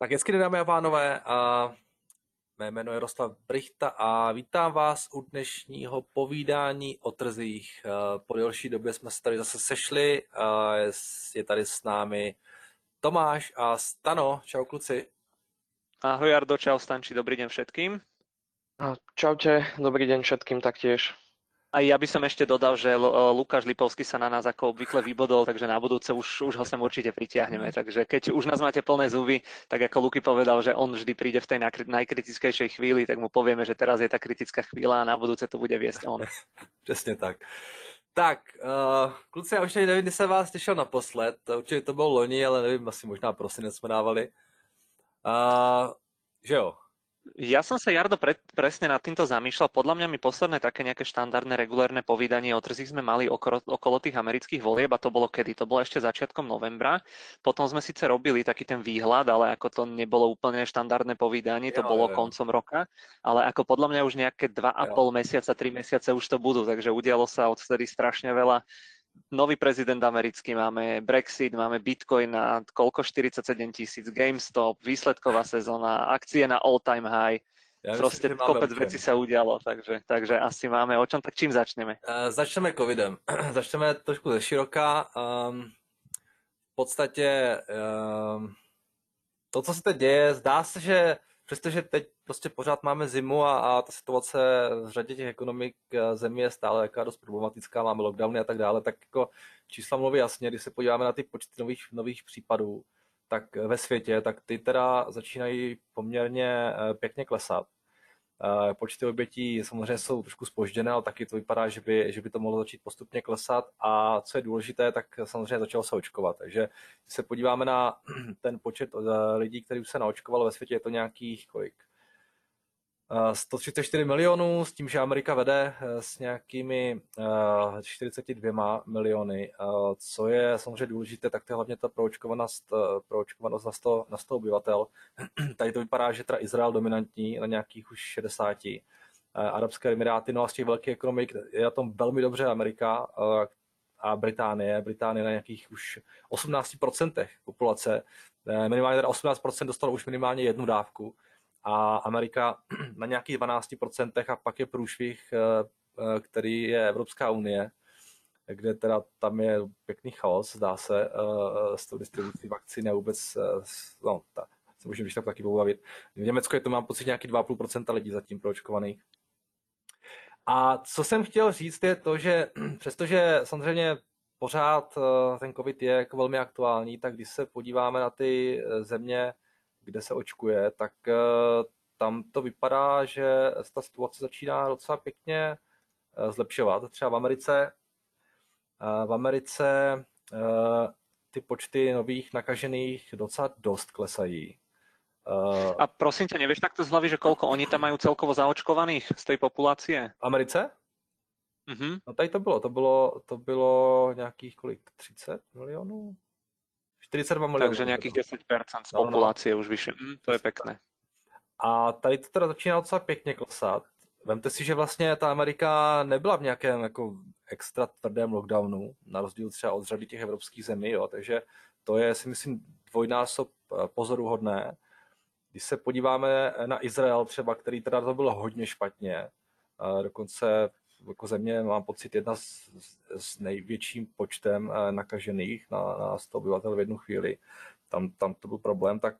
Tak hezky den, dámy a pánové, mé jméno je Jaroslav Brychta a vítám vás u dnešního povídání o trzích. Po delší době jsme se tady zase sešli, je tady s námi Tomáš a Stano. Čau kluci. Ahoj Jardo, čau Stanči, dobrý deň všetkým. Čaute, dobrý deň všetkým taktiež. A ja by som ešte dodal, že Lukáš Lipovský sa na nás ako obvykle vybodol, takže na budúce už ho sem určite pritiahneme. Takže keď už nás máte plné zuby, tak ako Luky povedal, že on vždy príde v tej najkritickejšej chvíli, tak mu povieme, že teraz je tá kritická chvíľa a na budúce to bude viesť on. Přesně tak. Tak, kluci, já už nevím, kdy jsem vás těšil naposled. Určitě to bylo loni, ale nevím, asi možná prosinec jsme dávali. Že jo? Ja som sa, Jardo, presne nad týmto zamýšľal. Podľa mňa my posledné také nejaké štandardné, regulérne povídanie o trzích sme mali okolo tých amerických volieb a to bolo kedy? To bolo ešte začiatkom novembra. Potom sme síce robili taký ten výhľad, ale ako to nebolo úplne štandardné povídanie, to bolo koncom roka. Ale ako podľa mňa už nejaké 2,5 mesiaca, 3 mesiace už to budú, takže udialo sa odvtedy strašne veľa. Nový prezident americký, máme Brexit, máme Bitcoin na koľko 47 000, GameStop, výsledková sezóna, akcie na all-time high. Proste kopec vecí sa udialo, takže asi máme o čom. Tak čím začneme? Začneme covidem. Začneme trošku ze široka. V podstatě to, co se teď děje, zdá se, že přestože teď prostě pořád máme zimu a ta situace v řadě těch ekonomik zemí je stále jaká dost problematická, máme lockdowny a tak dále, tak jako čísla mluví jasně, když se podíváme na ty počty nových případů, tak ve světě, tak ty teda začínají poměrně pěkně klesat. Počty obětí samozřejmě jsou trošku zpožděné, ale taky to vypadá, že by to mohlo začít postupně klesat a co je důležité, tak samozřejmě začalo se očkovat. Takže když se podíváme na ten počet lidí, kteří už se naočkovalo ve světě, je to nějakých kolik? 134 milionů, s tím, že Amerika vede s nějakými 42 miliony. Co je samozřejmě důležité, tak to je hlavně ta proočkovanost na 100 obyvatel. Tady to vypadá, že teda Izrael dominantní na nějakých už 60. Arabské Emiráty, no a z těch velkých ekonomik je na tom velmi dobře Amerika a Británie na nějakých už 18% populace. Minimálně teda 18% dostalo už minimálně jednu dávku. A Amerika na nějakých 12% a pak je průšvih, který je Evropská unie, kde teda tam je pěkný chaos, zdá se, s tou distribucí vakcíny a vůbec, no, se můžeme když tak taky pobavit. V Německu je to, mám pocit, nějaký 2,5% lidí zatím proočkovaných. A co jsem chtěl říct je to, že přestože samozřejmě pořád ten covid je jako velmi aktuální, tak když se podíváme na ty země, kde se očkuje, tak tam to vypadá, že ta situace začíná docela pěkně zlepšovat. Třeba v Americe ty počty nových nakažených docela dost klesají. A prosím ťa, nevieš takto z hlavy, že koľko oni tam majú celkovo zaočkovaných z tej populácie? V Americe? No tady to bylo nějakých kolik? 30 milionů? 42 milionů. Takže nejakých 10% z populácie už vyššie. To je pekné. A tady to teda začíná docela pěkně klesat. Vemte si, že vlastně ta Amerika nebyla v nějakém jako extra tvrdém lockdownu, na rozdíl třeba od řady těch evropských zemí, jo. Takže to je, si myslím, dvojnásob pozoruhodné. Když se podíváme na Izrael třeba, který teda to bylo hodně špatně, dokonce jako země, mám pocit, jedna s největším počtem nakažených na 100 obyvatel v jednu chvíli. Tam to byl problém, tak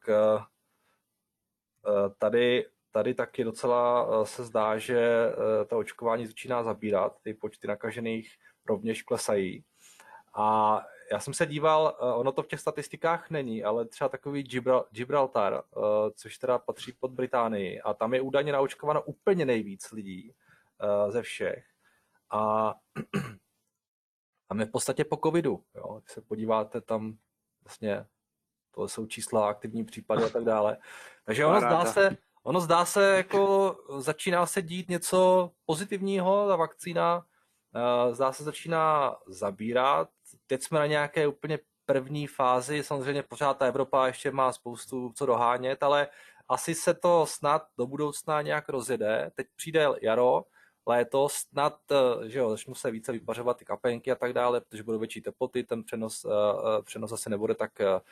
tady taky docela se zdá, že ta očkování začíná zabírat, ty počty nakažených rovněž klesají. A já jsem se díval, ono to v těch statistikách není, ale třeba takový Gibraltar, což teda patří pod Británii, a tam je údajně naočkováno úplně nejvíc lidí ze všech. A tam je v podstatě po covidu, jo. Když se podíváte, tam vlastně to jsou čísla, aktivní případy a tak dále. Takže ono zdá se, jako začíná se dít něco pozitivního, ta vakcína zdá se začíná zabírat. Teď jsme na nějaké úplně první fázi, samozřejmě pořád ta Evropa ještě má spoustu co dohánět, ale asi se to snad do budoucna nějak rozjede. Teď přijde jaro, léto, snad, že jo, začnou se více vypařovat ty kapenky a tak dále, protože budou větší teploty, ten přenos asi nebude tak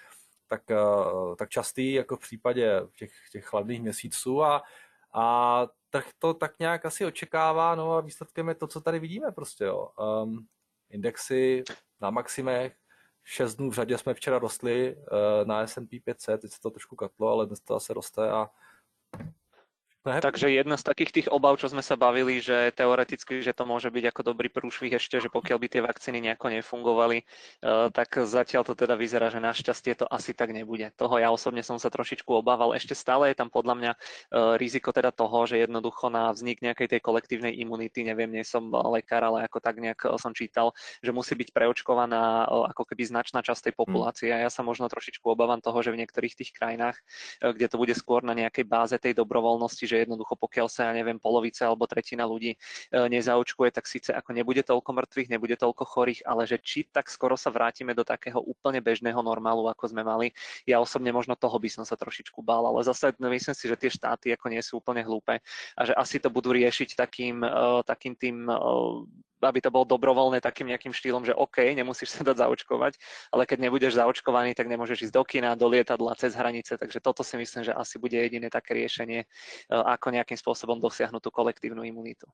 tak častý jako v případě těch chladných měsíců a trh to tak nějak asi očekává, no a výsledkem je to, co tady vidíme prostě, jo. Indexy na maximech, 6 dnů v řadě jsme včera rostli na S&P 500, teď se to trošku katlo, ale dnes to zase roste a Takže jedna z takých tých obav, čo sme sa bavili, že teoreticky, že to môže byť ako dobrý prúšvih ešte, že pokiaľ by tie vakcíny nejako nefungovali, tak zatiaľ to teda vyzerá, že našťastie to asi tak nebude. Toho ja osobne som sa trošičku obával. Ešte stále je tam podľa mňa riziko teda toho, že jednoducho na vznik nejakej tej kolektívnej imunity, neviem, nie som lekár, ale ako tak nejak som čítal, že musí byť preočkovaná ako keby značná časť tej populácie. A ja sa možno trošičku obávam toho, že v niektorých tých krajinách, kde to bude skôr na nejakej báze tej dobrovoľnosti, že jednoducho pokiaľ sa, ja neviem, polovica alebo tretina ľudí nezaočkuje, tak síce ako nebude toľko mŕtvych, nebude toľko chorých, ale že či tak skoro sa vrátime do takého úplne bežného normálu, ako sme mali. Ja osobne možno toho by som sa trošičku bál, ale zase myslím si, že tie štáty ako nie sú úplne hlúpe a že asi to budú riešiť takým tým, aby to bolo dobrovoľné takým nejakým štýlom, že OK, nemusíš sa dať zaočkovať, ale keď nebudeš zaočkovaný, tak nemôžeš ísť do kina, do lietadla, cez hranice, takže toto si myslím, že asi bude jediné také riešenie, ako nejakým spôsobom dosiahnuť tú kolektívnu imunitu.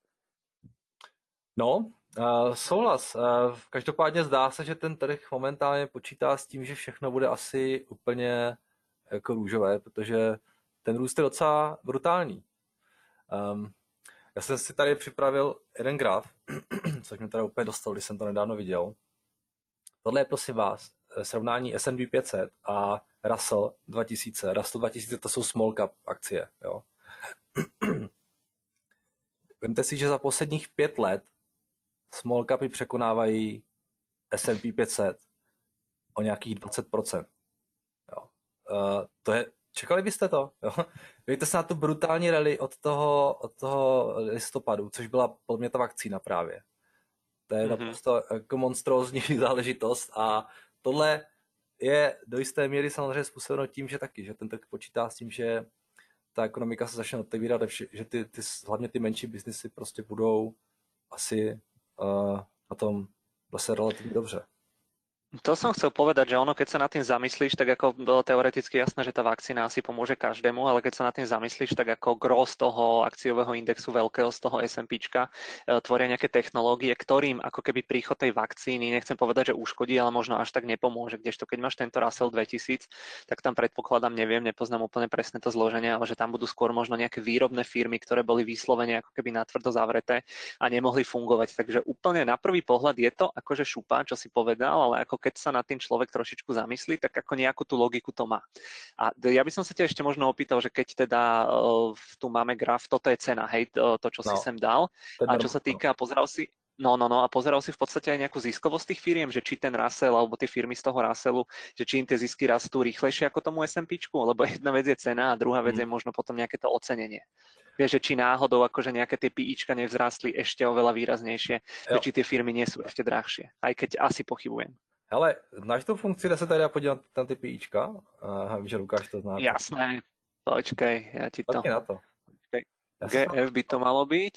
No, souhlas. Každopádně zdá se, že ten trh momentálně počítá s tím, že všechno bude asi úplně jako růžové, protože ten růst je docela brutální. Já jsem si tady připravil jeden graf, což mě teda úplně dostal, když jsem to nedávno viděl. Tohle je prosím vás srovnání S&P 500 a Russell 2000. Russell 2000 to jsou small cap akcie. Jo. Vemte si, že za posledních 5 let small capy překonávají S&P 500 o nějakých 20%. Jo. To je, čekali byste to? Jo? Dejte se na tu brutální rally od toho listopadu, což byla podle mě ta vakcína právě. To je naprosto jako monstrózní záležitost a tohle je do jisté míry samozřejmě způsobeno tím, že ten trh počítá s tím, že ta ekonomika se začne otevírat, že hlavně ty menší biznesy prostě budou asi na tom zase relativně dobře. To som chcel povedať, že ono, keď sa nad tým zamyslíš, tak ako bolo teoreticky jasné, že tá vakcína asi pomôže každému, ale keď sa nad tým zamyslíš, tak ako gros toho akciového indexu veľkého z toho S&Pčka tvoria nejaké technológie, ktorým ako keby príchod tej vakcíny, nechcem povedať, že uškodí, ale možno až tak nepomôže. Kdežto keď máš tento Russell 2000, tak tam predpokladám, neviem, nepoznám úplne presne to zloženie, ale že tam budú skôr možno nejaké výrobné firmy, ktoré boli vyslovene ako keby natvrdo zavreté a nemohli fungovať. Takže úplne na prvý pohľad je to akože šupa, čo si povedal, ale ako keď sa nad tým človek trošičku zamyslí, tak ako nejakú tú logiku to má. A ja by som sa ťa ešte možno opýtal, že keď teda tu máme graf, toto je cena, hej, to čo si sem dal. A čo sa týka, pozeral si v podstate aj nejakú ziskovosť tých firiem, že či ten Russell alebo tie firmy z toho Russellu, že či im tie zisky rastú rýchlejšie ako tomu S&Pčku, lebo jedna vec je cena a druhá vec je možno potom nejaké to ocenenie. Vieš, že či náhodou akože nejaké tie PIčka nevzrástli ešte oveľa výraznejšie, že či tie firmy nie sú ešte drahšie, aj keď asi pochybujem. Hele, znáš tu funkci, kde se tady dá podívat na ty PIčka? Víš, že Lukáš to zná. Jasné, počkej, ja ti to... Na to. Počkej. GF by to malo byť.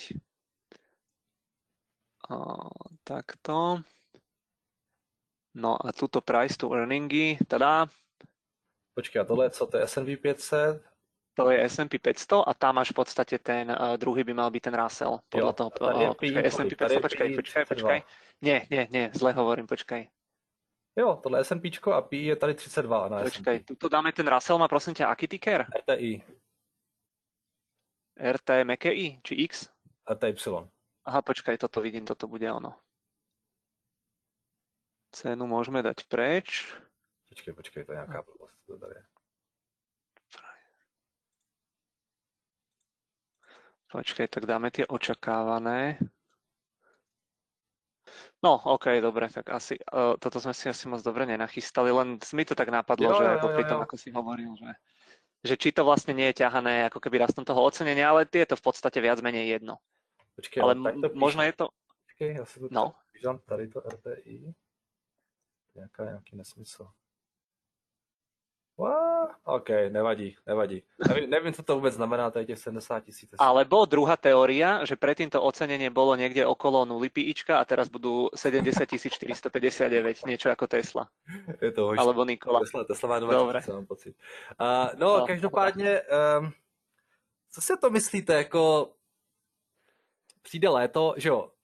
Takto. No a tuto price to earningy, teda. Počkej, a tohle je co? To je S&P 500? To je S&P 500 a tam máš v podstate ten druhý by mal byť ten Russell. Podľa toho, S&P 500, počkaj. Nie, zle hovorím, počkaj. Jo, tohle je S&Pčko a PI je tady 32 na Počkaj, tu dáme ten Russell, má prosím ťa aký ticker? RTI. RT meké I, či X? RTY. Aha, počkaj, toto vidím, toto bude ono. Cenu môžeme dať preč. Počkej, to je nejaká blbosť. To tady je. Počkaj, tak dáme tie očakávané. No, OK, dobre, tak asi toto sme si asi moc dobre nenachystali, len mi to tak napadlo, že ako pri tom, ako si hovoril, že či to vlastne nie je ťahané ako keby rastom toho ocenenia, ale je to v podstate viac menej jedno. Počkej, ale píšu. možno je to... Počkej, ja si to píšem, tady to RTI. Nějaký nesmysl. OK, nevadí. Nevím, co to vůbec znamená, tady těch 70 000. Alebo druhá teória, že predtým to ocenenie bolo niekde okolo 0 píčka a teraz budú 70 459, niečo ako Tesla. Je to hož. Alebo Nikola. Tesla má 2 Dobre. 000, mám pocit. No, každopádně, co si to myslíte, jako přijde léto, že jo,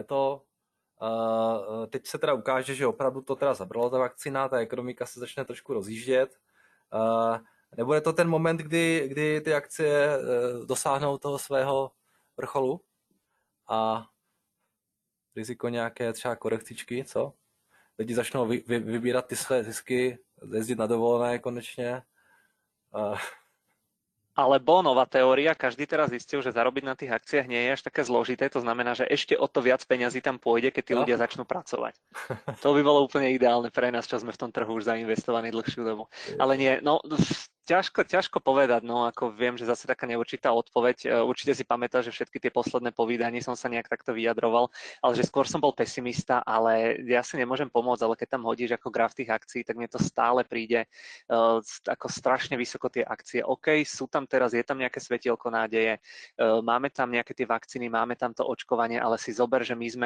teď se teda ukáže, že opravdu to teda zabralo ta vakcína, ta ekonomika se začne trošku rozjíždět. Nebude to ten moment, kdy ty akcie dosáhnou toho svého vrcholu a riziko nějaké třeba korekcičky, co? Lidi začnou vybírat ty své zisky, jezdit na dovolené konečně. Alebo nová teória, každý teraz zistil, že zarobiť na tých akciách nie je až také zložité, to znamená, že ešte o to viac peňazí tam pôjde, keď tí ľudia začnú pracovať. To by bolo úplne ideálne pre nás, čo sme v tom trhu už zainvestovaní dlhšiu dobu. Ale nie, no ťažko povedať, no ako viem, že zase taká neurčitá odpoveď. Určite si pamätáš, že všetky tie posledné povídanie som sa nejak takto vyjadroval, ale že skôr som bol pesimista, ale ja si nemôžem pomôcť, ale keď tam hodíš ako graf tých akcií, tak mne to stále príde ako strašne vysoko tie akcie. OK, sú tam teraz, je tam nejaké svetielko nádeje, máme tam nejaké tie vakcíny, máme tam to očkovanie, ale si zober, že my sme,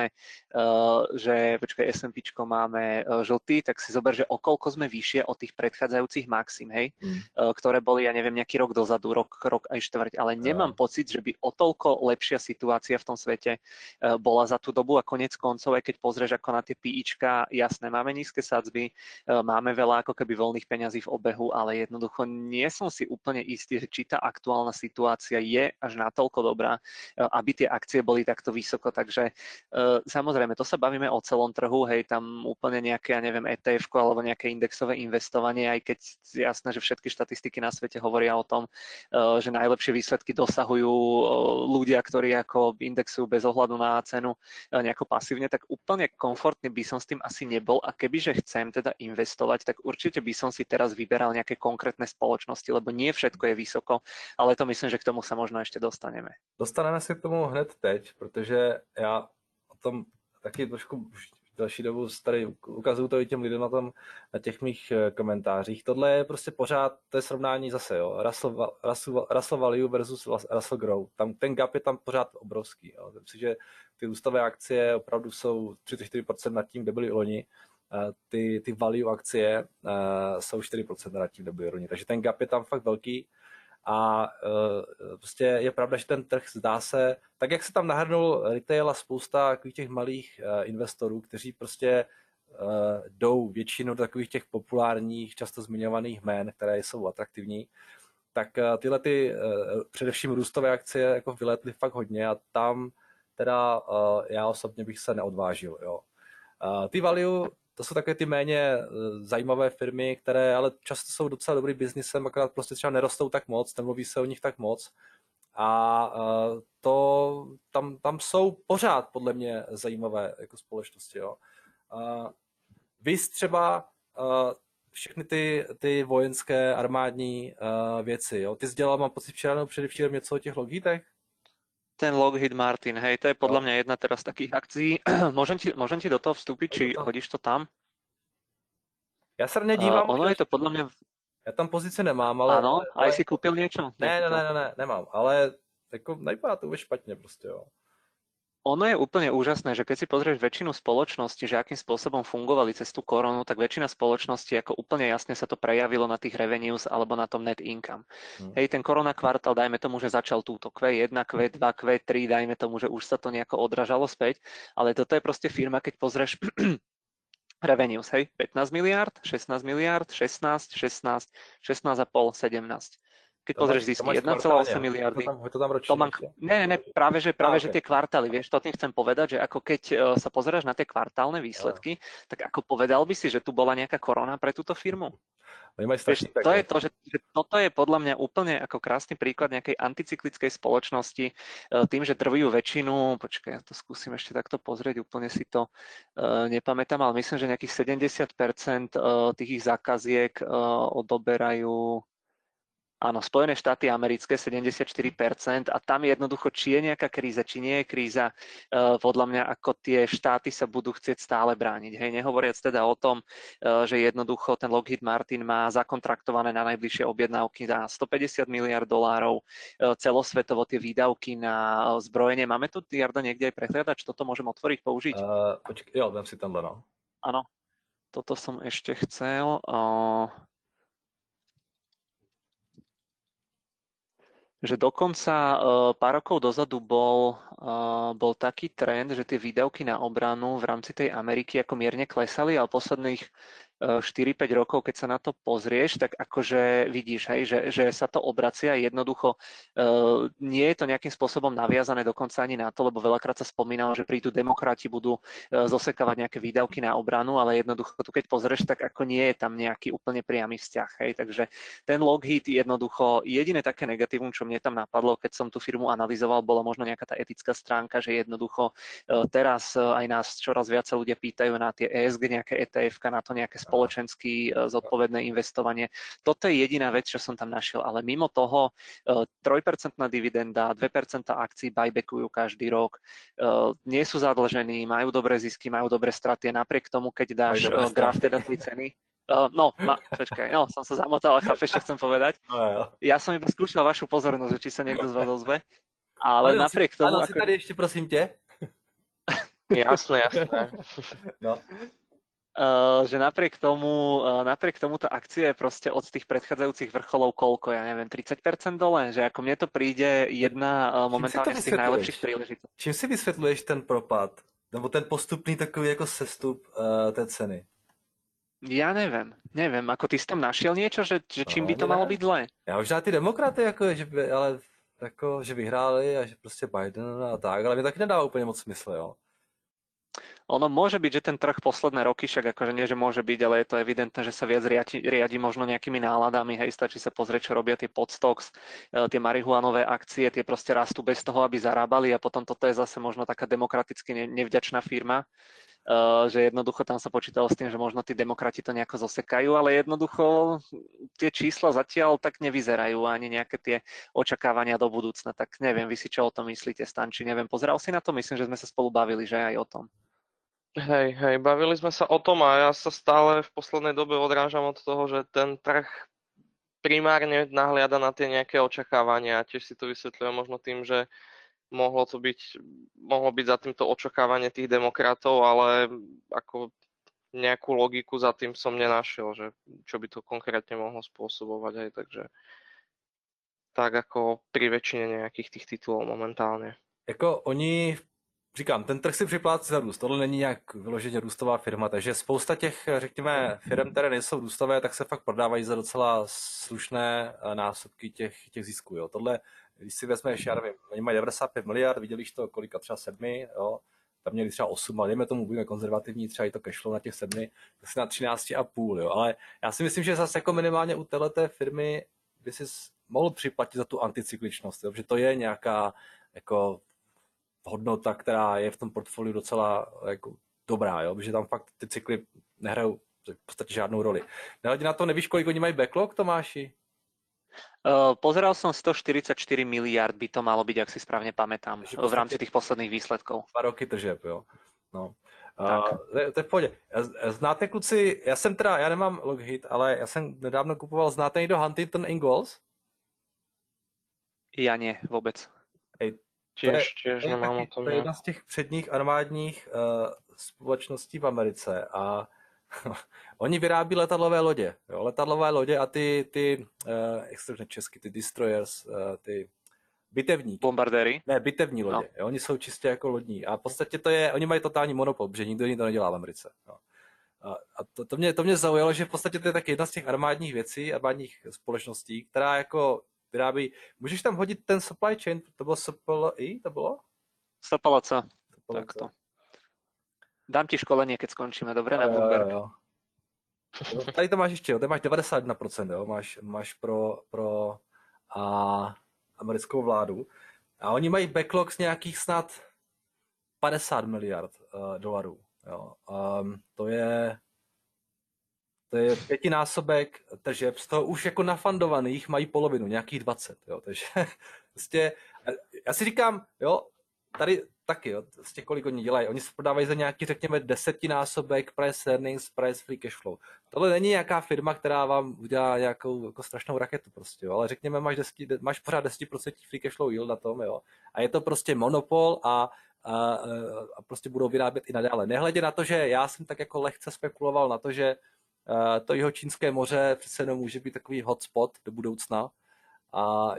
že počkaj, S&Pčko máme žltý, tak si zober, že okolko sme vyššie od tých predchádzajúcich maxim, hej? Ktoré boli, ja neviem, nejaký rok dozadu, rok aj štvrť, ale nemám pocit, že by o toľko lepšia situácia v tom svete bola za tú dobu a konec koncov, aj keď pozrieš ako na tie PIčka, jasné, máme nízke sadzby, máme veľa ako keby voľných peňazí v obehu, ale jednoducho nie som si úplne istý, že či tá aktuálna situácia je až natoľko dobrá, aby tie akcie boli takto vysoko, takže samozrejme, to sa bavíme o celom trhu, hej, tam úplne nejaké, ja neviem, ETF alebo nejaké indexové investovanie, aj keď jasné, že všetky štatistiky na svete hovoria o tom, že najlepšie výsledky dosahujú ľudia, ktorí ako indexujú bez ohľadu na cenu nejako pasívne, tak úplne komfortný by som s tým asi nebol a kebyže chcem teda investovať, tak určite by som si teraz vyberal nejaké konkrétne spoločnosti, lebo nie všetko je vysoko, ale to myslím, že k tomu sa možno ešte dostaneme. Dostaneme se k tomu hned teď, protože já o tom taky trošku další dobu tady ukazuju to i těm lidem na těch mých komentářích. Tohle je prostě pořád, to je srovnání zase, jo, Russell Value versus Russell Growth. Tam ten gap je tam pořád obrovský. Jo. Myslím si, že ty růstové akcie opravdu jsou 34% nad tím, kde byly loni. Ty value akcie jsou 4% nad tím, kde byly loni. Takže ten gap je tam fakt velký. A prostě je pravda, že ten trh zdá se, tak jak se tam nahrnul retail a spousta takových těch malých investorů, kteří prostě jdou většinu takových těch populárních, často zmiňovaných jmén, které jsou atraktivní, tak tyhle především růstové akcie jako vyletly fakt hodně a tam teda já osobně bych se neodvážil. Jo. Ty value, to jsou takové ty méně zajímavé firmy, které ale často jsou docela dobrý biznisem, akorát prostě třeba nerostou tak moc, nemluví se o nich tak moc. A tam jsou pořád podle mě zajímavé jako společnosti. Jo. Víc třeba všechny ty vojenské armádní věci. Jo. Ty jsi dělal, mám pocit, včera nebo předevčírem něco o těch Lockheedech? Ten Lockheed Martin, hej, to je podľa mňa jedna teraz z takých akcií. Môžem ti do toho vstúpiť, či hodíš to tam? Já se nedívám. Ono je to podľa mňa... Já tam pozici nemám, ale... Áno, aj si kúpil niečo? Ne, nemám, ale jako nevypadá to vůbec špatně prostě, jo. Ono je úplne úžasné, že keď si pozrieš väčšinu spoločností, že akým spôsobom fungovali cez tú koronu, tak väčšina spoločností ako úplne jasne sa to prejavilo na tých revenues alebo na tom net income. Hej, ten korona kvartál, dajme tomu, že začal túto Q1, Q2, Q3, dajme tomu, že už sa to nejako odražalo späť, ale toto je proste firma, keď pozrieš revenues, hej, 15 miliard, 16 miliard, 16, 16, 16,5, 17. Keď pozrieš zisky 1,8 miliardy. To tam ročne. Ne, práve že tie kvartály, vieš, to tým chcem povedať, že ako keď sa pozeráš na tie kvartálne výsledky, tak ako povedal by si, že tu bola nejaká korona pre túto firmu? Vieš, to je to, že toto je podľa mňa úplne ako krásny príklad nejakej anticyklickej spoločnosti, tým, že drvujú väčšinu, počkaj, ja to skúsim ešte takto pozrieť, úplne si to nepamätám, ale myslím, že nejakých 70% tých ich zákaziek odoberajú. Áno, Spojené štáty americké 74% a tam jednoducho, či je nejaká kríza, či nie je kríza, podľa mňa ako tie štáty sa budú chcieť stále brániť. Hej, nehovoriac teda o tom, že jednoducho ten Lockheed Martin má zakontraktované na najbližšie objednávky za 150 miliard dolárov, celosvetovo tie výdavky na zbrojenie. Máme tu, Jarda, niekde aj prehliadač? Toto môžem otvoriť, použiť? Počkej, jo, dám si tamhle, no. Áno, toto som ešte chcel. Že dokonca pár rokov dozadu bol taký trend, že tie výdavky na obranu v rámci tej Ameriky ako mierne klesali, ale posledných 4-5 rokov, keď sa na to pozrieš, tak akože vidíš, hej, že sa to obracia jednoducho. Nie je to nejakým spôsobom naviazané dokonca ani na to, lebo veľakrát sa spomínalo, že prídu demokrati, budú zosekávať nejaké výdavky na obranu, ale jednoducho tu keď pozrieš, tak ako nie je tam nejaký úplne priamy vzťah. Hej. Takže ten Lockheed jednoducho, jediné také negatívum, čo mne tam napadlo, keď som tú firmu analyzoval, bola možno nejaká tá etická stránka, že jednoducho teraz aj nás čoraz viac sa ľudia pýtajú na tie ESG, nejaké ETF, na to nejaké spoločensky zodpovedné investovanie. Toto je jediná vec, čo som tam našiel, ale mimo toho 3% dividenda, 2% akcií buybackujú každý rok, nie sú zadlžení, majú dobré zisky, majú dobré straty, napriek tomu, keď dáš graf teda tej ceny. Počkaj, som sa zamotal, chápeš, čo chcem povedať? Ja som iba skúšal vašu pozornosť, či sa niekto z vás ozve, ale napriek tomu... Áno, si tady ešte, prosím te. Jasné. No. Že napriek tomu tá akcia je proste od tých predchádzajúcich vrcholov koľko, ja neviem, 30% dole, že ako mne to príde jedna momentálne z tých najlepších príležitostí. Čím si vysvětluješ ten propad, nebo ten postupný takový jako sestup té ceny? Ja neviem, ako ty si tam našiel niečo, že čím by to malo byť zlé? Já možná ty demokraty, že vyhráli a že prostě Biden a tak, ale mi taky nedává úplně moc smysl, jo. Ono môže byť, že ten trh posledné roky, však akože nie, že môže byť, ale je to evidentné, že sa viac riadi možno nejakými náladami, hej, stačí sa pozrieť, čo robia tie podstocks, tie marihuanové akcie, tie proste rastú bez toho, aby zarábali a potom toto je zase možno taká demokraticky nevďačná firma, že jednoducho tam sa počítalo s tým, že možno tí demokrati to nejako zosekajú, ale jednoducho tie čísla zatiaľ tak nevyzerajú ani nejaké tie očakávania do budúcna, tak neviem, vy si čo o tom myslíte, Stanči, neviem, pozeral si na to, myslím, že sme sa spolu bavili, že aj o tom. Hej, bavili sme sa o tom a ja sa stále v poslednej dobe odrážam od toho, že ten trh primárne nahliada na tie nejaké očakávania. Tiež si to vysvetľujem možno tým, že mohlo byť za týmto očakávanie tých demokratov, ale ako nejakú logiku za tým som nenašiel, že čo by to konkrétne mohlo spôsobovať. Hej, takže tak ako pri väčšine nejakých tých titulov momentálne. Říkám, ten trh si připlácí za růst. Tohle není nějak vyloženě růstová firma, takže spousta těch, řekněme, firm, které nejsou růstové, tak se fakt prodávají za docela slušné násobky těch zisků. Jo. Tohle, když si vezmeš, já nevím, oni mají 95 miliard, viděli to kolika, třeba 7, jo. Tam měli třeba 8, ale dejme tomu, budeme konzervativní, třeba i to cashflow na těch 7, tak si na 13,5, jo. Ale já si myslím, že zase jako minimálně u téhleté firmy by si mohl připlatit za tu anticykličnost, jo, že to je nějaká jako hodnota, která je v tom portfoliu docela jako dobrá, jo? Protože tam fakt ty cykly nehrajou v podstatě žádnou roli. Nehledě na to, nevíš, kolik oni mají backlog, Tomáši? Pozeral som 144 miliard by to malo byť, ak si správne pamätám, v rámci tých posledných výsledkov. 2 roky tržeb, jo. No. To je v pohodě. Znáte, kluci, já nemám Lockheed, ale já jsem nedávno kupoval, znáte někdo Huntington Ingalls? Ja nie, vôbec. Tiež nemám o tom. To je jedna z těch předních armádních společností v Americe a oni vyrábí letadlové lodě. Jo? Letadlové lodě a ty jak se řekne česky, ty destroyers, ty bitevníky. Bombardéry? Ne, bitevní lodě. No. Oni jsou čistě jako lodní. A v podstatě to je, oni mají totální monopol, protože nikdo jiný to nedělá v Americe. Jo. A to mě zaujalo, že v podstatě to je taky jedna z těch armádních věcí, armádních společností, která jako vyrábí. Můžeš tam hodit ten supply chain, to bylo SPLI, to bylo? SPLC, takto. Dám ti školenie, keď skončíme, dobre, na Bloomberg. Jo. Tady to máš ještě, jo, tady máš 91%, jo, máš pro americkou vládu. A oni mají backlog z nějakých snad 50 miliard dolarů. Jo. To je To je 5násobek tržeb, z toho už jako nafandovaných mají polovinu, nějakých 20, jo, takže prostě, já si říkám, jo, tady taky, jo, prostě kolik oni dělají, oni se prodávají za nějaký, řekněme, 10násobek price earnings, price free cash flow. Tohle není nějaká firma, která vám udělá nějakou jako strašnou raketu prostě, jo, ale řekněme, máš pořád 10% free cash flow yield na tom, jo, a je to prostě monopol a prostě budou vyrábět i nadále. Nehledě na to, že já jsem tak jako lehce spekuloval na to, že to Jihočínské moře přece jenom může být takový hotspot do budoucna a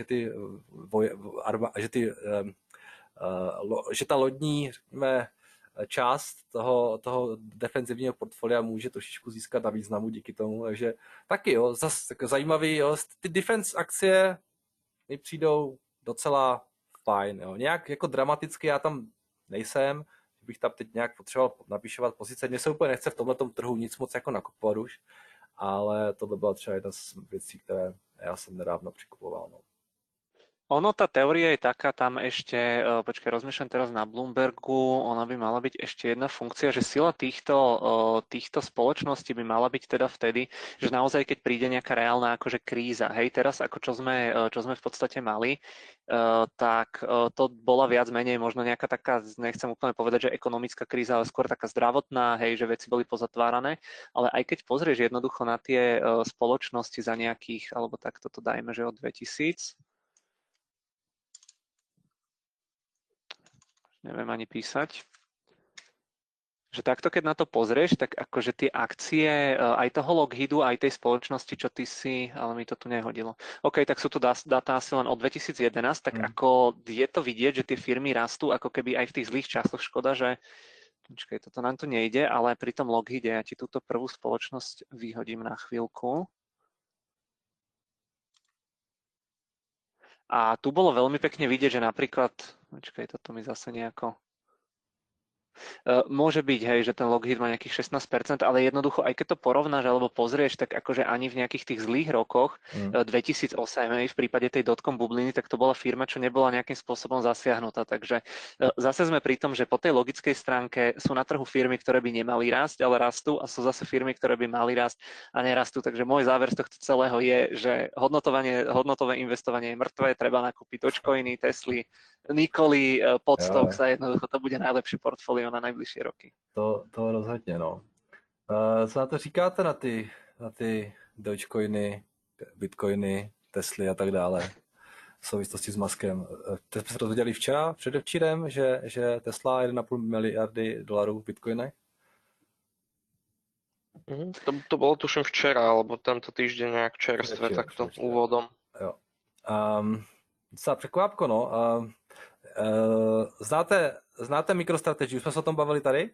že ta lodní, řekněme, část toho defenzivního portfolia může trošičku získat na významu díky tomu, takže taky jo, zase zajímavý, jo, ty defense akcie mi přijdou docela fajn, jo, nějak jako dramaticky já tam nejsem, bych tam teď nějak potřeboval napíšovat pozice, mně se úplně nechce v tomhletom trhu nic moc jako nakupovat už, ale tohle byla třeba jedna z věcí, které já jsem nedávno přikupoval, no. Ono, tá teória je taká, tam ešte, počkaj, rozmýšľam teraz na Bloombergu, ona by mala byť ešte jedna funkcia, že sila týchto spoločností by mala byť teda vtedy, že naozaj, keď príde nejaká reálna akože kríza, hej, teraz ako čo sme v podstate mali, tak to bola viac menej možno nejaká taká, nechcem úplne povedať, že ekonomická kríza, ale skôr taká zdravotná, hej, že veci boli pozatvárané, ale aj keď pozrieš jednoducho na tie spoločnosti za nejakých, alebo takto to dajme, že od 2000, neviem ani písať, že takto keď na to pozrieš, tak akože tie akcie aj toho Lockheedu, aj tej spoločnosti, čo ty si, ale mi to tu nehodilo. OK, tak sú tu dáta asi len od 2011, tak ako je to vidieť, že tie firmy rastú ako keby aj v tých zlých časoch. Škoda, že počkaj, toto nám tu nejde, ale pri tom Lockheede ja ti túto prvú spoločnosť vyhodím na chvíľku. A tu bolo veľmi pekne vidieť, že napríklad, počkaj, toto mi zase nejako... Môže byť, hej, že ten Lockheed má nejakých 16%, ale jednoducho, aj keď to porovnáš alebo pozrieš, tak akože ani v nejakých tých zlých rokoch 2008, hej, v prípade tej dotcom bubliny, tak to bola firma, čo nebola nejakým spôsobom zasiahnutá. Takže zase sme pri tom, že po tej logickej stránke sú na trhu firmy, ktoré by nemali rásť, ale rastú, a sú zase firmy, ktoré by mali rásť a nerastú. Takže môj záver z tohto celého je, že hodnotové investovanie je mŕtve, treba nakúpiť Dogecoiny, Tesly, Nikoli, Podstocks a jednoducho to bude najlepší portfólio na najbližšie roky. To rozhodně, no. Co na to říkáte na ty Dogecoiny, Bitcoiny, Tesly a tak dále v souvislosti s Muskem? Teď jsme se dozvěděli předevčírem, že Tesla 1,5 miliardy dolarů v Bitcoinech? To bolo tuším včera, alebo tento týždeň nejak čerstvé, takto úvodom. Jo. Docela překvápko, no. Znáte MicroStrategy? Už jsme se o tom bavili tady?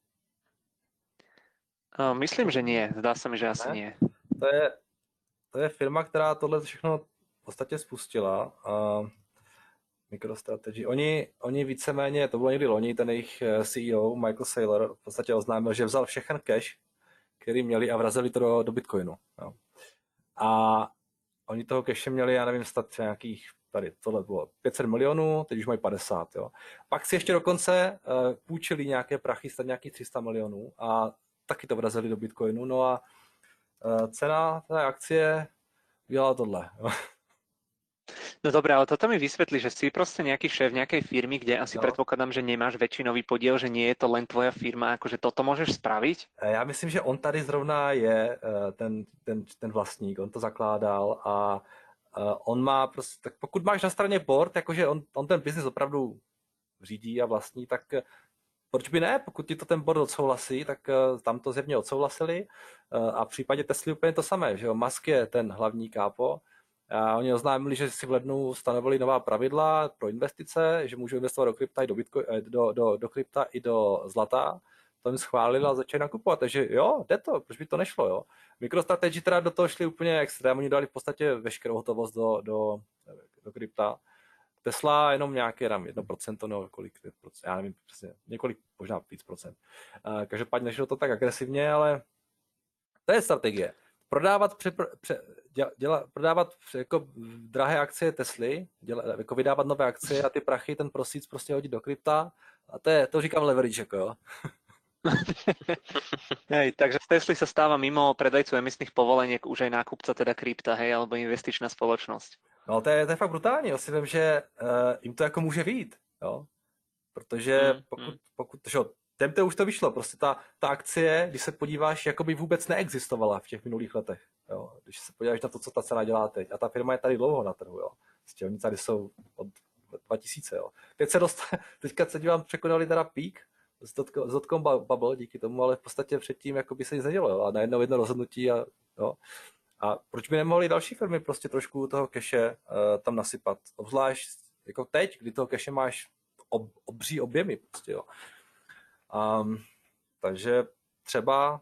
Myslím, že nie. Zdá se mi, že asi nie. To je firma, která tohle všechno v podstatě spustila. MicroStrategy. Oni víceméně, to bylo někdy loni, ten jejich CEO Michael Saylor v podstatě oznámil, že vzal všechen cash, který měli, a vrazili to do Bitcoinu. Jo. A oni toho cache měli, já nevím, stát nějakých, tady tohle bylo 500 milionů, teď už mají 50. Jo. Pak si ještě dokonce půjčili nějaké prachy, stát nějakých 300 milionů a taky to vrazili do Bitcoinu. No a cena té akcie udělala tohle. Jo. No dobré, ale toto mi vysvetli, že si proste nejaký šéf nejakej firmy, kde asi predpokladám, že nemáš väčšinový podiel, že nie je to len tvoja firma, akože toto môžeš spraviť? Já myslím, že on tady zrovna je ten vlastník, on to zakládal a on má prostě, tak pokud máš na straně board, jakože on ten biznis opravdu řídí a vlastní, tak proč by ne? Pokud ti to ten board odsouhlasí, tak tam to zjevně odsouhlasili a v případě Tesly úplně to samé, že jo, Musk je ten hlavní kápo. A oni oznámili, že si v lednu stanovili nová pravidla pro investice, že můžou investovat do krypta i do krypta i do zlata. To jim schválili a začali nakupovat. Takže jo, jde to, proč by to nešlo, jo. MicroStrategy teda do toho šli úplně extrém, oni dali v podstatě veškerou hotovost do krypta. Tesla jenom nějaké 1% nebo kolik, já nevím přesně, několik, možná víc procent. Každopádně nešlo to tak agresivně, ale to je strategie. Prodávat jako drahé akcie Tesly, jako vydávat nové akcie a ty prachy, ten proceeds prostě hodit do krypta a to říkám leverage, jako jo. Hej, takže z Tesly sa stáva mimo predajcu emisných povoleniek už aj nákupca teda krypta, hej, alebo investičná spoločnosť. No to je fakt brutální, já si vím, že jim to jako může vyjít, jo. Protože pokud že těm to už to vyšlo, prostě ta akcie, když se podíváš, jakoby vůbec neexistovala v těch minulých letech, jo. Když se podíváš na to, co ta cena dělá teď. A ta firma je tady dlouho na trhu, jo. Prostě oni tady jsou od 2000, jo. Teď se teďka se dívám, překonali teda pík z dotcom bubble díky tomu, ale v podstatě předtím jakoby se nic nedělo, jo. A najednou jedno rozhodnutí a jo. A proč by nemohly další firmy prostě trošku toho keše tam nasypat? Obzvlášť jako teď, kdy toho keše máš obří objemy prostě, jo. Takže třeba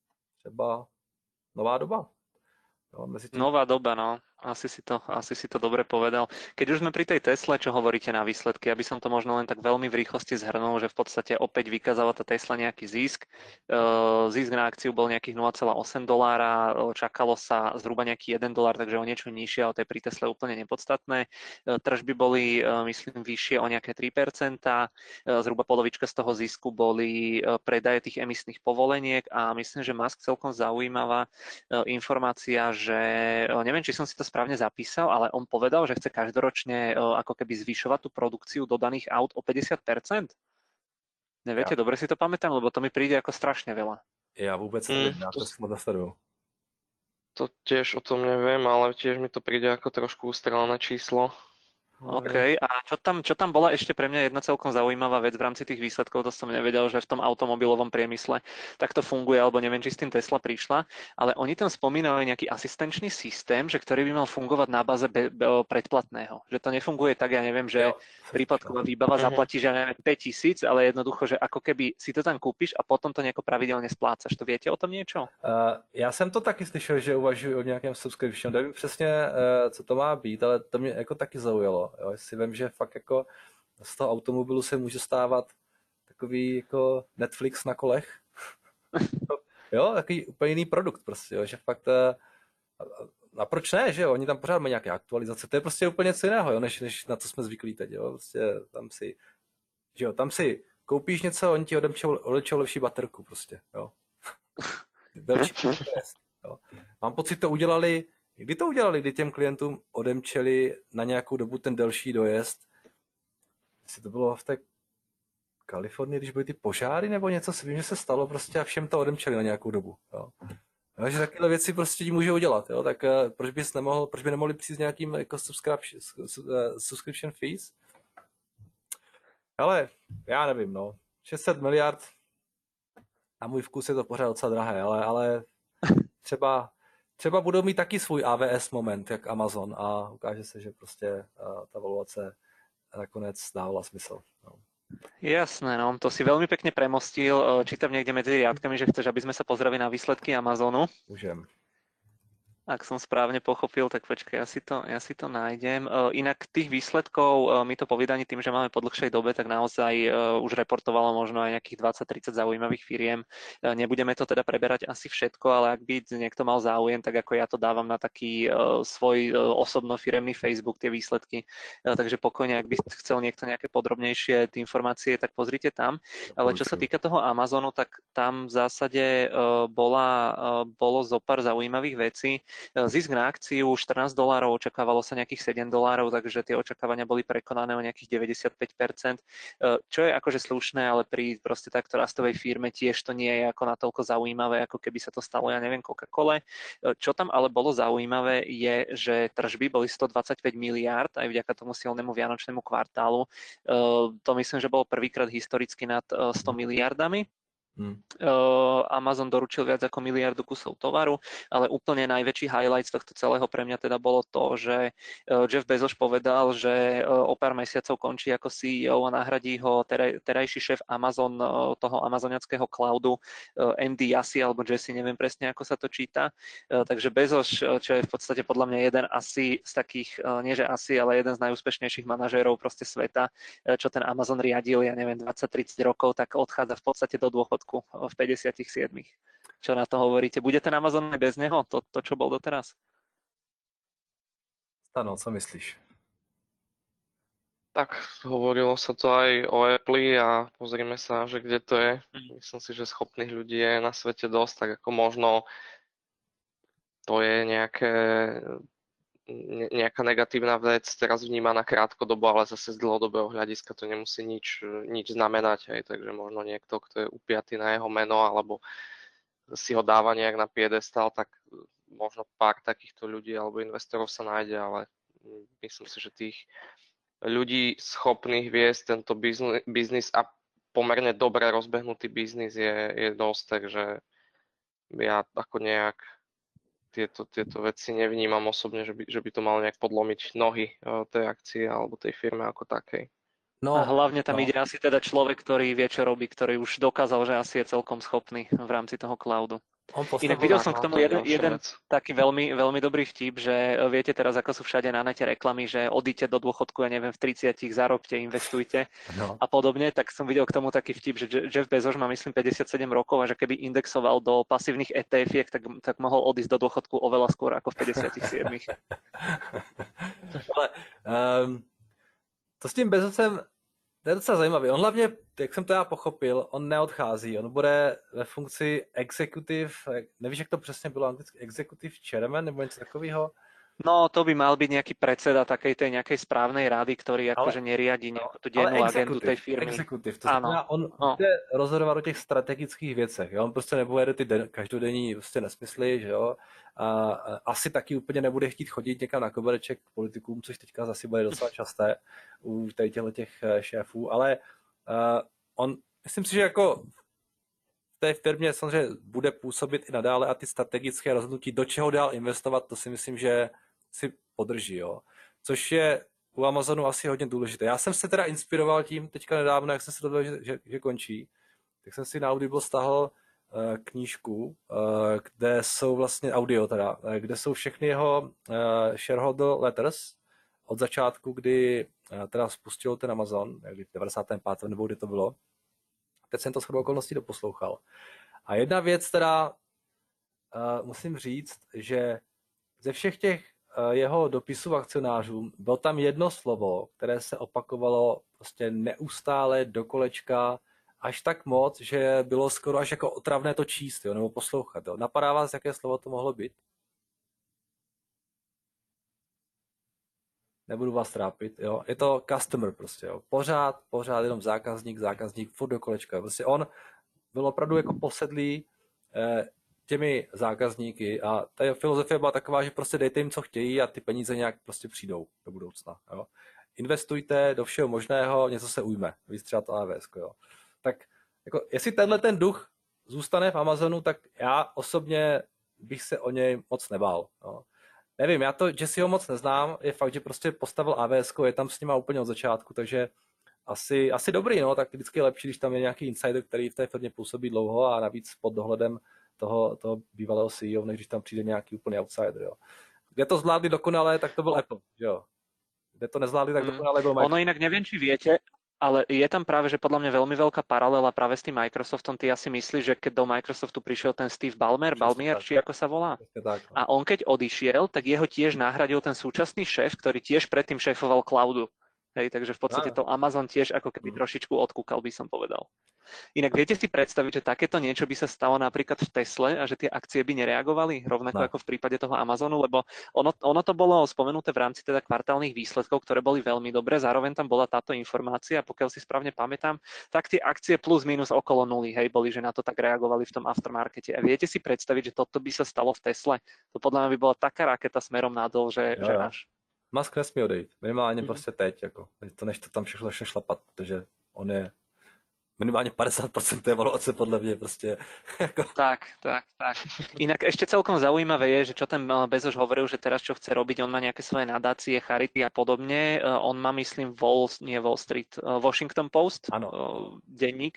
nová doba. Jo, Nová doba, no. Asi si to dobre povedal. Keď už sme pri tej Tesle, čo hovoríte na výsledky, aby som to možno len tak veľmi v rýchlosti zhrnul, že v podstate opäť vykázala tá Tesla nejaký zisk. Zisk na akciu bol nejakých $0,8, čakalo sa zhruba nejaký $1, takže o niečo nižšie, ale to je pri Tesle úplne nepodstatné. Tržby boli, myslím, vyššie o nejaké 3%, zhruba polovička z toho zisku boli predaje tých emisných povoleniek a myslím, že Musk celkom zaujímavá informácia, že neviem, či som si to správne zapísal, ale on povedal, že chce každoročne ako keby zvyšovať tú produkciu dodaných aut o 50%. Neviete, dobre si to pamätám, lebo to mi príde ako strašne veľa. Ja vôbec neviem, ja to som nasledujú. To tiež o tom neviem, ale tiež mi to príde ako trošku ustrelené číslo. OK, a čo tam bola ešte pre mňa jedna celkom zaujímavá vec v rámci tých výsledkov, to som nevedel, že v tom automobilovom priemysle takto funguje, alebo neviem, či s tým Tesla prišla, ale oni tam spomínajú nejaký asistenčný systém, že ktorý by mal fungovať na báze predplatného. Že to nefunguje tak, ja neviem, že prípadková výbava zaplatí, že neviem, 5 000, ale jednoducho, že ako keby si to tam kúpiš a potom to nejako pravidelne splácaš. To viete o tom niečo? Já jsem to taky slyšel, že uvažuji o nějakém subscription. Nevím přesně, co to má být, ale to mě jako taky zaujalo. Jo, jestli vím, že fakt jako z toho automobilu se může stávat takový jako Netflix na kolech. Jo, takový úplně jiný produkt prostě, jo, že fakt a proč ne, že jo, oni tam pořád mají nějaké aktualizace, to je prostě úplně něco jiného, jo, než na co jsme zvyklí teď, jo, prostě tam si koupíš něco, oni ti odečou lepší baterku prostě, jo. Jo. Mám pocit, to udělali, kdy těm klientům odemčeli na nějakou dobu ten delší dojezd. Jestli to bylo v té Kalifornii, když byly ty požáry nebo něco, si vím, že se stalo prostě a všem to odemčeli na nějakou dobu. Jo. Jo, že takové věci prostě ti můžou udělat, jo. Tak proč by nemohli přijít s nějakým jako subscription fees? Ale já nevím, no. 600 miliard, na můj vkus je to pořád docela drahé, ale třeba budou mít taky svůj AWS moment, jak Amazon, a ukáže se, že prostě ta valuace nakonec dávala smysl. No. Jasné, no, to si veľmi pekne premostil. Čítam niekde medzi riadkami, že chceš, aby sme sa pozreli na výsledky Amazonu. Môžem. Ak som správne pochopil, tak počkaj, ja si to nájdem. Inak tých výsledkov mi to po vydaní tým, že máme po dlhšej dobe, tak naozaj už reportovalo možno aj nejakých 20-30 zaujímavých firiem. Nebudeme to teda preberať asi všetko, ale ak by niekto mal záujem, tak ako ja to dávam na taký svoj osobno firemný Facebook, tie výsledky. Takže pokojne, ak by chcel niekto nejaké podrobnejšie informácie, tak pozrite tam. Ale čo sa týka toho Amazonu, tak tam v zásade bolo zo pár zaujímavých vecí. Zisk na akciu $14, očakávalo sa nejakých $7, takže tie očakávania boli prekonané o nejakých 95%, čo je akože slušné, ale pri proste takto rastovej firme tiež to nie je ako natoľko zaujímavé, ako keby sa to stalo, ja neviem, Coca-Cole. Čo tam ale bolo zaujímavé je, že tržby boli 125 miliárd aj vďaka tomu silnému vianočnému kvartálu. To myslím, že bolo prvýkrát historicky nad 100 miliardami. Amazon doručil viac ako 1 miliardu kusov tovaru, ale úplne najväčší highlight z tohto celého pre mňa teda bolo to, že Jeff Bezos povedal, že o pár mesiacov končí ako CEO a nahradí ho terajší šéf Amazon, toho amazoniackého cloudu, MD Jassy alebo Jesse, neviem presne ako sa to číta. Takže Bezos, čo je v podstate podľa mňa jeden asi z takých, nie že asi, ale jeden z najúspešnejších manažérov proste sveta, čo ten Amazon riadil, ja neviem, 20-30 rokov, tak odchádza v podstate do dôchodku v 57. Čo na to hovoríte? Bude ten Amazon aj bez neho? To, čo bol doteraz? Stano, co myslíš? Tak hovorilo sa to aj o Apple a pozrime sa, že kde to je. Myslím si, že schopných ľudí je na svete dosť, tak ako možno to je nejaká negatívna vec teraz vnímaná krátkodobo, ale zase z dlhodobého hľadiska to nemusí nič znamenať. Hej. Takže možno niekto, kto je upiatý na jeho meno alebo si ho dáva nejak na piedestal, tak možno pár takýchto ľudí alebo investorov sa nájde, ale myslím si, že tých ľudí schopných viesť tento biznis a pomerne dobre rozbehnutý biznis je dosť, takže ja ako nejak tieto veci nevnímam osobne, že by to malo nejak podlomiť nohy tej akcie alebo tej firme ako takej. A hlavne tam ide asi teda človek, ktorý vie, čo robí, ktorý už dokázal, že asi je celkom schopný v rámci toho cloudu. Inak videl som k tomu jeden taký veľmi, veľmi dobrý vtip, že viete teraz, ako sú všade na nete reklamy, že odíďte do dôchodku, ja neviem, v 30, zarobte, investujte a podobne, tak som videl k tomu taký vtip, že Jeff Bezos má, myslím, 57 rokov a že keby indexoval do pasívnych ETF-iek, tak mohol odísť do dôchodku oveľa skôr ako v 57. Ale to s tím Bezosem, to je docela zajímavé. On hlavně, jak jsem to já pochopil, on neodchází. On bude ve funkci executive, nevíš, jak to přesně bylo anglicky, executive chairman nebo něco takového? No, to by mal byť nejaký predseda takej tej nejakej správnej rady, ktorý akože neriadi nejakú tú dennú agendu tej firmy. Executive, to znamená, on bude rozhodovat o těch strategických věcech. Jo? On prostě nebude ty každodenní prostě nesmysly, že jo. A asi taky úplně nebude chtít chodit někam na kobereček k politikům, což teďka zase bude docela časté u těch šéfů, ale on, myslím si, že jako v té firmě samozřejmě bude působit i nadále a ty strategické rozhodnutí, do čeho dál investovat, to si myslím, že si podrží, jo. Což je u Amazonu asi hodně důležité. Já jsem se teda inspiroval tím teďka nedávno, jak jsem se dozvěděl, že končí, tak jsem si na Audible stáhl knížku, kde jsou vlastně audio teda, kde jsou všechny jeho shareholder letters od začátku, kdy teda spustil ten Amazon, někdy v 95. nebo kdy to bylo. Teď jsem to shodou okolností doposlouchal. A jedna věc teda musím říct, že ze všech těch jeho dopisů akcionářům bylo tam jedno slovo, které se opakovalo prostě neustále do kolečka, až tak moc, že bylo skoro až jako otravné to číst, jo, nebo poslouchat. Jo. Napadá vás, jaké slovo to mohlo být? Nebudu vás trápit, jo. Je to customer prostě, jo. Pořád jenom zákazník, furt do kolečka. Prostě on byl opravdu jako posedlý těmi zákazníky a ta filozofie byla taková, že prostě dejte jim, co chtějí a ty peníze nějak prostě přijdou do budoucna, jo. Investujte do všeho možného, něco se ujme, víc třeba to AWS, jo. Tak jako, jestli tenhle ten duch zůstane v Amazonu, tak já osobně bych se o něj moc nebál, jo. Nevím, já to Jesseho moc neznám, je fakt, že prostě postavil AWS, je tam s nima úplně od začátku, takže asi dobrý, no, tak vždycky je lepší, když tam je nějaký insider, který v té firmě působí dlouho a navíc pod dohledem toho bývalého CEO, než když tam přijde nějaký úplný outsider, jo. Kde to zvládli dokonale, tak to byl Apple, jo. Kde to nezvládli, tak dokonale byl Microsoft. Ono inak neviem, či viete, ale je tam práve, že podľa mňa veľmi veľká paralela práve s tým Microsoftom. Ty asi myslíš, že keď do Microsoftu prišiel ten Steve Ballmer, či ako sa volá? Tak, no. A on keď odišiel, tak jeho tiež nahradil ten súčasný šéf, ktorý tiež predtým šéfoval cloudu. Hej, takže v podstate to Amazon tiež ako keby trošičku odkúkal, by som povedal. Inak viete si predstaviť, že takéto niečo by sa stalo napríklad v Tesle a že tie akcie by nereagovali rovnako ako v prípade toho Amazonu, lebo ono to bolo spomenuté v rámci teda kvartálnych výsledkov, ktoré boli veľmi dobré, zároveň tam bola táto informácia, pokiaľ si správne pamätám, tak tie akcie plus minus okolo nuly, hej, boli, že na to tak reagovali v tom aftermarkete. A viete si predstaviť, že toto by sa stalo v Tesle? To podľa mňa by bola taká raketa smerom nadol, že až. Musk nesmí odejít, minimálně prostě teď, jako, než to tam všechno začne šlapat, protože on je minimálne 50% tej valuace podľa mňa proste. Tak. Inak ešte celkom zaujímavé je, že čo ten Bezos hovoril, že teraz čo chce robiť, on má nejaké svoje nadácie, charity a podobne. On má, myslím, Washington Post, denník.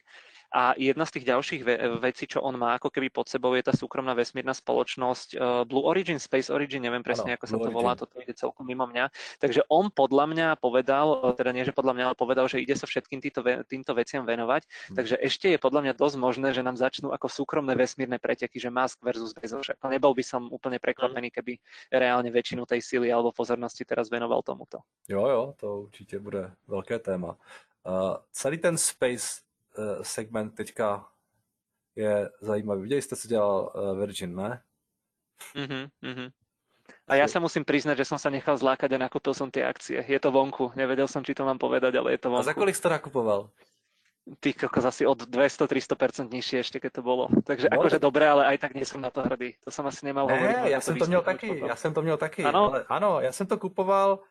A jedna z tých ďalších vecí, čo on má ako keby pod sebou, je tá súkromná vesmírna spoločnosť Blue Origin, Space Origin, neviem presne, ako sa to volá, toto ide celkom mimo mňa. Takže on podľa mňa povedal, teda nie, že podľa mňa, ale povedal, že ide sa všetkým týmto veciam venovať. Takže ešte je podľa mňa dosť možné, že nám začnú ako súkromné vesmírne preteky, že Musk versus Bezos. Nebol by som úplne prekvapený, keby reálne väčšinu tej síly alebo pozornosti teraz venoval tomuto. Jo, to určitě bude velké téma. Celý ten space segment teďka je zajímavý. Viděli jste, co dělal Virgin, ne? A ja sa musím priznať, že som sa nechal zlákať a nakúpil som tie akcie. Je to vonku. Nevedel som, či to mám povedať, ale je to vonku. A za kolik jste nakupoval? Ty kokos, asi od 200-300% nižšie ešte, keď to bolo. Takže akože dobré, ale aj tak nie som na to hrdý. To som asi nemal hovoriť. Ne, já jsem to měl taky. Ano? Ano, já jsem to kupoval.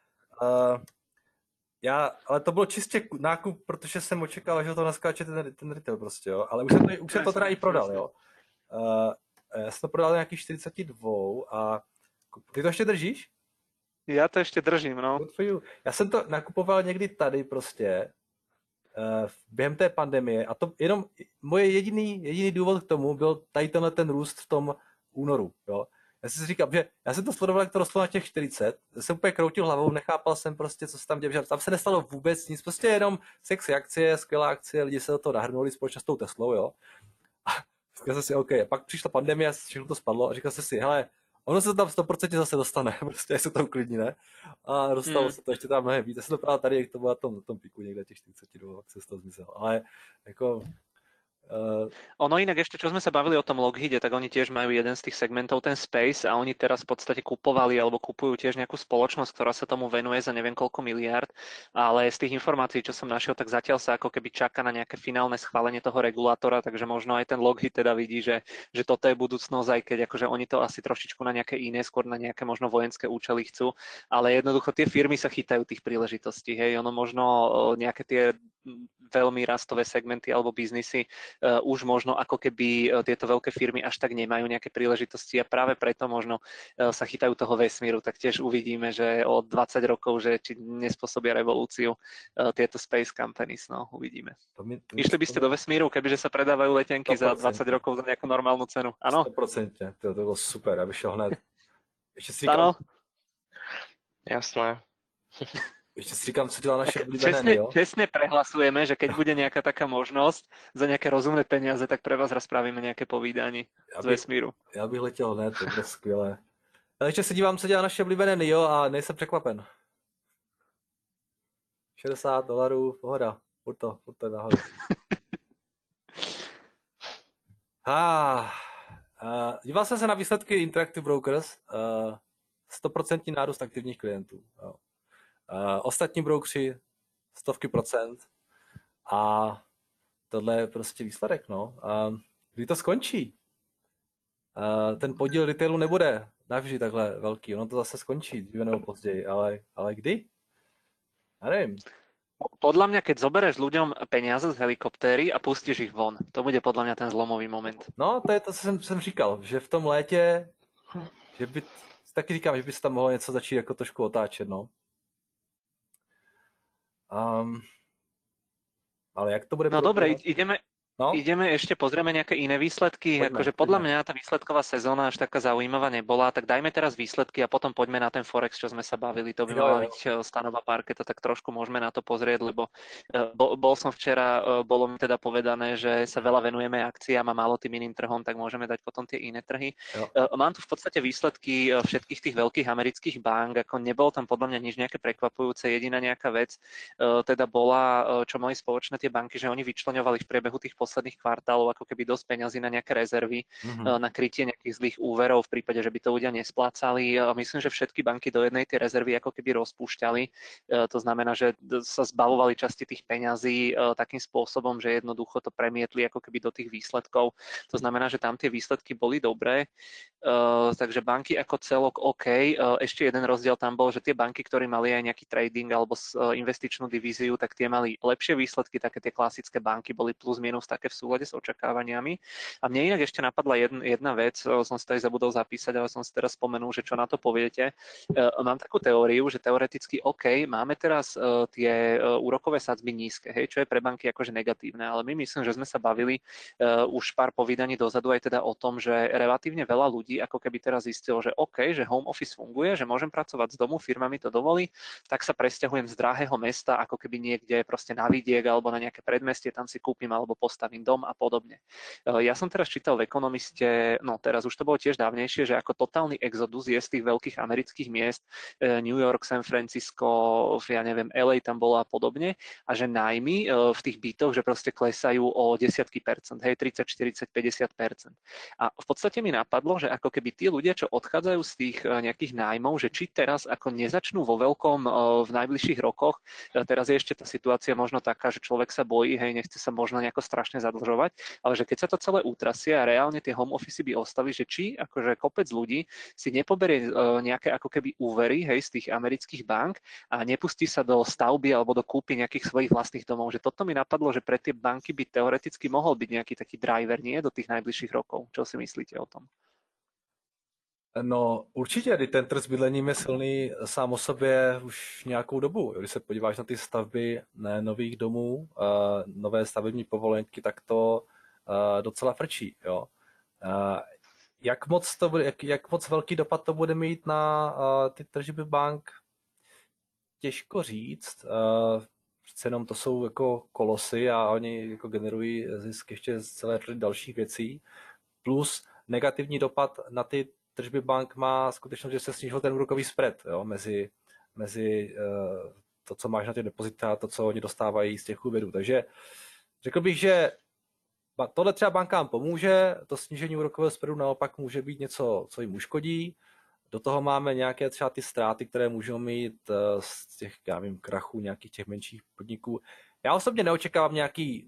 Ale to bylo čistě nákup, protože jsem očekával, že to naskáče ten retail prostě, jo. Ale už jsem to teda i prodal, jo. Já jsem to prodal nějaký 42 a ty to ještě držíš? Já to ještě držím, no. Já jsem to nakupoval někdy tady prostě během té pandemie a to jenom moje jediný důvod k tomu byl tady ten růst v tom únoru, jo. Já jsem si říkal, že já jsem to sledoval, jak to rostlo na těch 40, jsem úplně kroutil hlavou, nechápal jsem prostě, co se tam děje, tam se nestalo vůbec nic, prostě jenom sexy akcie, skvělá akcie, lidi se do toho nahrnuli společně s tou Teslou, jo. A říkal jsem si, OK, a pak přišla pandemie, všechno to spadlo a říkal jsem si, hele, ono se to tam 100% zase dostane, prostě je se tam klidní, ne? A dostalo se to ještě tam mnohem víc, já jsem to právě tady, jak to bylo na tom piku někde těch 42, jak se z toho zmizel, ale jako... Ono inak ešte, čo sme sa bavili o tom Lockheede, tak oni tiež majú jeden z tých segmentov, ten Space, a oni teraz v podstate kupovali alebo kupujú tiež nejakú spoločnosť, ktorá sa tomu venuje za neviem koľko miliárd, ale z tých informácií, čo som našiel, tak zatiaľ sa ako keby čaká na nejaké finálne schválenie toho regulátora, takže možno aj ten Lockheed teda vidí, že toto je budúcnosť, aj keď akože oni to asi trošičku na nejaké iné, skôr na nejaké možno vojenské účely chcú, ale jednoducho tie firmy sa chytajú tých príležitostí, hej, ono možno nejaké tie veľmi rastové segmenty alebo biznisy už možno ako keby tieto veľké firmy až tak nemajú nejaké príležitosti a práve preto možno sa chytajú toho vesmíru, tak tiež uvidíme, že o 20 rokov, že či nespôsobia revolúciu tieto space companies, no uvidíme. Išli by ste do vesmíru, kebyže sa predávajú letenky 100%. Za 20 rokov za nejakú normálnu cenu, áno? 100%, to bylo super, aby šel hned. Ešte si říkám... Jasné. Ešte si říkám, co dělá naše oblíbené, jo? Čestne prehlasujeme, že keď bude nejaká taká možnosť za nejaké rozumné peniaze, tak pre vás raz spravíme nejaké povídání z vesmíru. Já bych letěl hned, to bude skvělé. Ale ještě se dívám, co dělá naše oblíbené NIO a nejsem překvapen. $60, pohoda, furt to nahoru. Díval jsem se na výsledky Interactive Brokers, 100% nárůst aktivních klientů. Jo. Ostatní broukři 100% a tohle je prostě výsledek, no. Kdy to skončí? Ten podíl retailu nebude navždy takhle velký, ono to zase skončí dříve nebo později, ale kdy? Já nevím. Podľa mňa, keď zoberieš ľuďom peniaze z helikoptéry a pustíš ich von, to bude podľa mňa ten zlomový moment. No, to je to, co jsem říkal, že v tom létě, že by, taky říkám, že by se tam mohlo něco začít jako trošku otáčet, no. Ale jak to bude? No dobre, ideme ešte, pozrieme nejaké iné výsledky. Akože podľa mňa tá výsledková sezóna až taká zaujímavá nebola, tak dajme teraz výsledky a potom poďme na ten Forex, čo sme sa bavili. To by mala byť stanová parketa, tak trošku môžeme na to pozrieť, lebo bol som včera, bolo mi teda povedané, že sa veľa venujeme akciám a málo tým iným trhom, tak môžeme dať potom tie iné trhy. Mám tu v podstate výsledky všetkých tých veľkých amerických bank, ako nebolo tam podľa mňa nič nejaké prekvapujúce. Jediná nejaká vec teda bola, čo mali spoločné tie banky, že oni vyčleňovali v priebehu tých posledných kvartálov ako keby dosť peňazí na nejaké rezervy, na krytie nejakých zlých úverov v prípade, že by to ľudia nesplácali. Myslím, že všetky banky do jednej tie rezervy ako keby rozpúšťali. To znamená, že sa zbavovali časti tých peňazí takým spôsobom, že jednoducho to premietli ako keby do tých výsledkov. To znamená, že tam tie výsledky boli dobré. Takže banky ako celok OK. Ešte jeden rozdiel tam bol, že tie banky, ktorí mali aj nejaký trading alebo investičnú divíziu, tak tie mali lepšie výsledky, také tie klasické banky boli plus minus tak také v súlade s očakávaniami. A mne inak ešte napadla jedna vec, som si tady zabudol zapísať, ale som si teraz spomenul, že čo na to poviete. Mám takú teóriu, že teoreticky OK, máme teraz tie úrokové sadzby nízke, hej, čo je pre banky akože negatívne, ale my myslím, že sme sa bavili už pár povídaní dozadu aj teda o tom, že relatívne veľa ľudí ako keby teraz zistilo, že OK, že home office funguje, že môžem pracovať z domu, firma mi to dovolí, tak sa presťahujem z drahého mesta ako keby niekde proste na vidiek alebo na nejaké predmestie, tam si kúpim alebo postavím dom a podobne. Ja som teraz čítal v Ekonomiste, no teraz už to bolo tiež dávnejšie, že ako totálny exodus je z tých veľkých amerických miest, New York, San Francisco, ja neviem, LA tam bolo a podobne, a že nájmy v tých bytoch, že proste klesajú o desiatky percent, hej, 30, 40, 50%. A v podstate mi napadlo, že ako keby tí ľudia, čo odchádzajú z tých nejakých nájmov, že či teraz ako nezačnú vo veľkom v najbližších rokoch, teraz je ešte tá situácia možno taká, že človek sa bojí, hej, nechce sa možno nejako strašne zadlžovať, ale že keď sa to celé utrasie a reálne tie home office by ostali, že či akože kopec ľudí si nepoberie nejaké ako keby úvery, hej, z tých amerických bank a nepustí sa do stavby alebo do kúpy nejakých svojich vlastných domov. Že toto mi napadlo, že pre tie banky by teoreticky mohol byť nejaký taký driver, nie, do tých najbližších rokov. Čo si myslíte o tom? No určitě, kdy ten trh s bydlením je silný sám o sobě už nějakou dobu. Když se podíváš na ty stavby nových domů, nové stavební povolenky, tak to docela frčí. Jo. Jak moc velký dopad to bude mít na ty tržby bank, těžko říct. Přece jenom to jsou jako kolosy a oni jako generují zisk ještě z celé řady dalších věcí. Plus negativní dopad na ty tržby bank má skutečnost, že se snížil ten úrokový spread, jo, mezi to, co máš na ty depozita a to, co oni dostávají z těch úvěrů. Takže řekl bych, že tohle třeba bankám pomůže, to snížení úrokového spreadu naopak může být něco, co jim uškodí. Do toho máme nějaké třeba ty ztráty, které můžou mít z těch, já vím, krachů nějakých těch menších podniků. Já osobně neočekávám nějaké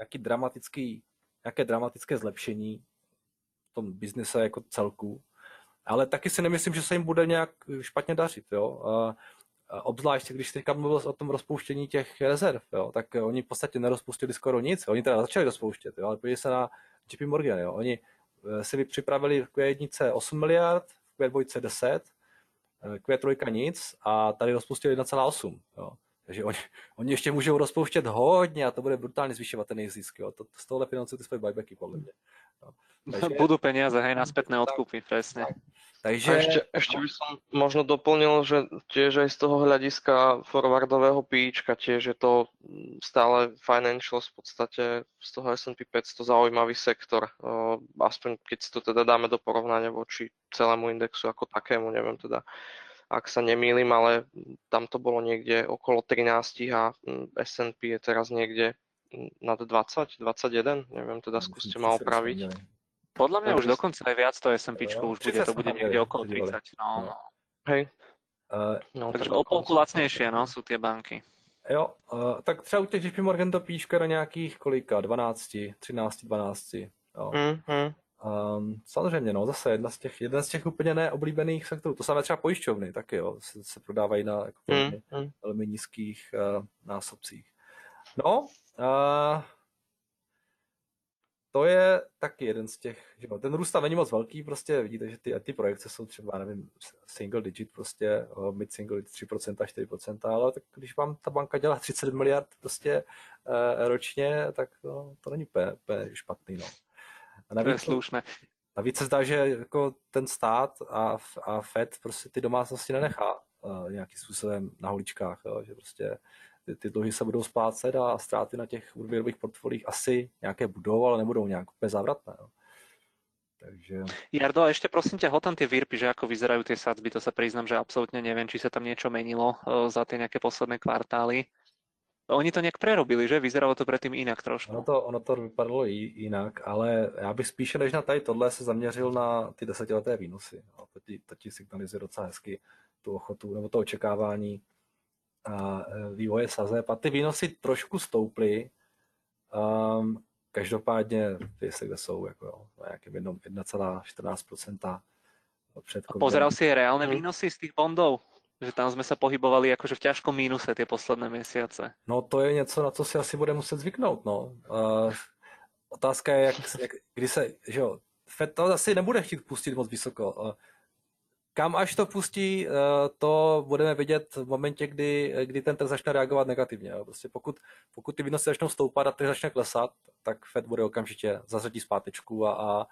dramatické zlepšení v tom biznise jako celku, ale taky si nemyslím, že se jim bude nějak špatně dařit. Jo? Obzvlášť, když jsi teďka mluvil o tom rozpouštění těch rezerv, jo? Tak oni v podstatě nerozpustili skoro nic. Oni teda začali rozpouštět, jo? Ale podívej se na JP Morgan. Jo? Oni si připravili v Q1 8 miliard, v Q2 10, Q3 nic a tady rozpustili 1,8. Jo? Takže oni ještě můžou rozpouštět hodně a to bude brutálně zvyšovat ten jejich zisk. Jo? Z tohohle financují ty svoje buybacky, podle mě. Jo? Takže... Budú peniaze, hej, na spätné odkupy, presne. Takže... Ešte by som možno doplnil, že tiež aj z toho hľadiska forwardového PIčka tiež je to stále financials v podstate z toho S&P 500 zaujímavý sektor. Aspoň keď si to teda dáme do porovnania voči celému indexu ako takému, neviem teda, ak sa nemýlim, ale tam to bolo niekde okolo 13 a S&P je teraz niekde nad 20, 21, neviem, teda skúste ma opraviť. Podľa mňa už dokonca aj viac to S&Pčko už bude, to bude niekde okolo 30. No. Hej. Takže o polku lacnejšie, no, sú tie banky. Jo, tak třeba u těch JP Morgan to píška do nějakých kolika, 12, 13, 12. Jo. Samozřejmě, no, zase jeden z těch úplně neoblíbených sektorů. To samé třeba pojišťovny taky, jo, se prodávají na jako velmi nízkých násobcích. No, to je taky jeden z těch, že ten růst tam není moc velký, prostě vidíte, že ty projekce jsou třeba, nevím, single digit, prostě mid single digit 3%, 4%, ale tak když vám ta banka dělá 30 miliard prostě ročně, tak to není úplně špatný, no. A navíc, to je slušné. Navíc se zdá, že jako ten stát a Fed prostě ty domácnosti nenechá nějakým způsobem na holičkách, jo, že prostě ty dluhy se budou splácet a ztráty na těch úvěrových portfoliích asi nějaké budou, ale nebudou nějak úplně závratné. Jo. Takže... Jardo, a ešte prosím ťa, hoď tam tie výrpy, že ako vyzerajú tie sadzby, to sa priznám, že absolútne neviem, či sa tam niečo menilo za tie nejaké posledné kvartály. Oni to nějak prerobili, že? Vyzeralo to předtím jinak trošku. Ono to vypadalo jinak, ale já bych spíše než na tady tohle se zaměřil na ty desetileté výnosy. To ti signalizuje docela hezky tu ochotu nebo to očekávání a vývoje sazeb. A ty výnosy trošku stouply. Každopádně ty se kde jsou jako na nějakém 1,14% před covidem. Pozeral si reálne výnosy z tých bondov? Že tam sme sa pohybovali akože v ťažkom mínuse tie posledné mesiace. No to je něco, na co si asi bude muset zvyknout, no. otázka je, kdy se, že jo, Fed to asi nebude chtít pustit moc vysoko. Kam až to pustí, to budeme vidět v momentě, kdy ten trh začne reagovat negativně. Jo. Prostě pokud ty výnosy začnou stoupat a trh začne klesat, tak Fed bude okamžitě zařadit zpátečku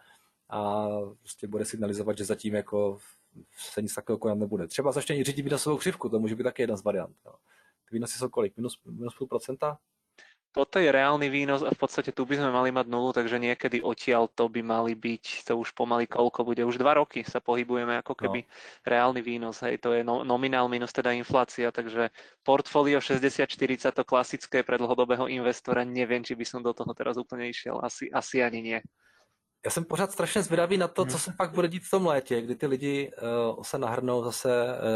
a prostě bude signalizovat, že zatím jako se nic takového konat nebude. Třeba začne i řídit výnosovou křivku, to může být taky jedna z variant. Jo. Ty výnosy jsou kolik? Minus 0,5%? Toto je reálny výnos a v podstate tu by sme mali mať nulu, takže niekedy odtiaľ to by mali byť, to už pomaly koľko bude, už 2 roky sa pohybujeme ako keby reálny výnos, hej, to je nominál minus teda inflácia, takže portfólio 60-40, to klasické pre dlhodobého investora, neviem, či by som do toho teraz úplne išiel, asi ani nie. Já jsem pořád strašně zvědavý na to, co se pak bude dít v tom létě, kdy ty lidi se nahrnou zase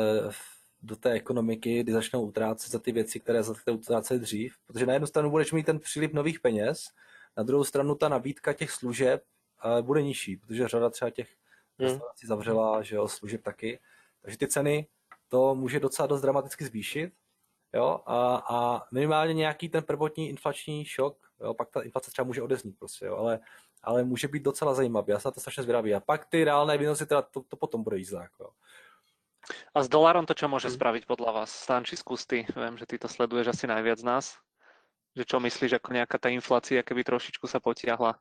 do té ekonomiky, kdy začnou utrácet za ty věci, které utráceli dřív. Protože na jednu stranu budeš mít ten příliv nových peněz, na druhou stranu ta nabídka těch služeb bude nižší, protože řada třeba těch restaurací zavřela, že jo, služeb taky. Takže ty ceny to může docela dost dramaticky zvýšit. Jo? A minimálně nějaký ten prvotní inflační šok, jo? Pak ta inflace třeba může odeznít prostě, jo? Ale může být docela zajímavý. Já jsem na to strašně zvědavý. A pak ty reálné výnosy, teda to potom bude jízda. Jako. A s dolárom to čo môže spraviť podľa vás? Stanči, skús ty. Viem, že ty to sleduješ asi najviac z nás. Že čo myslíš, ako nejaká tá inflácia keby trošičku sa potiahla?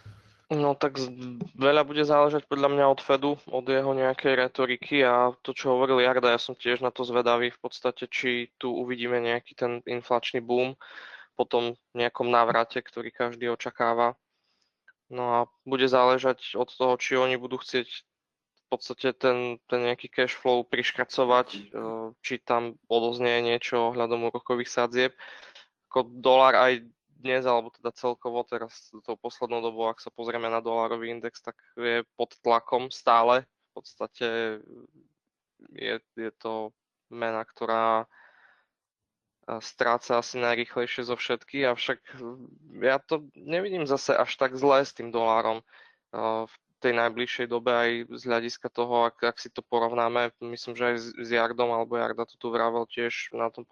No tak veľa bude záležať podľa mňa od Fedu, od jeho nejakej retoriky a to, čo hovoril Jarda, ja som tiež na to zvedavý v podstate, či tu uvidíme nejaký ten inflačný boom po tom nejakom návrate, ktorý každý očakáva. No a bude záležať od toho, či oni budú chcieť v podstate ten nejaký cash flow priškracovať, či tam odoznie niečo ohľadom úrokových sadzieb. Ako dolár aj dnes, alebo teda celkovo teraz tou poslednou dobou, ak sa pozrieme na dolárový index, tak je pod tlakom stále. V podstate je to mena, ktorá stráca asi najrýchlejšie zo všetky, avšak ja to nevidím zase až tak zlé s tým dolárom v tej najbližšej dobe aj z hľadiska toho, ak si to porovnáme, myslím, že aj s Jardom, alebo Jarda to tu vravel tiež na tom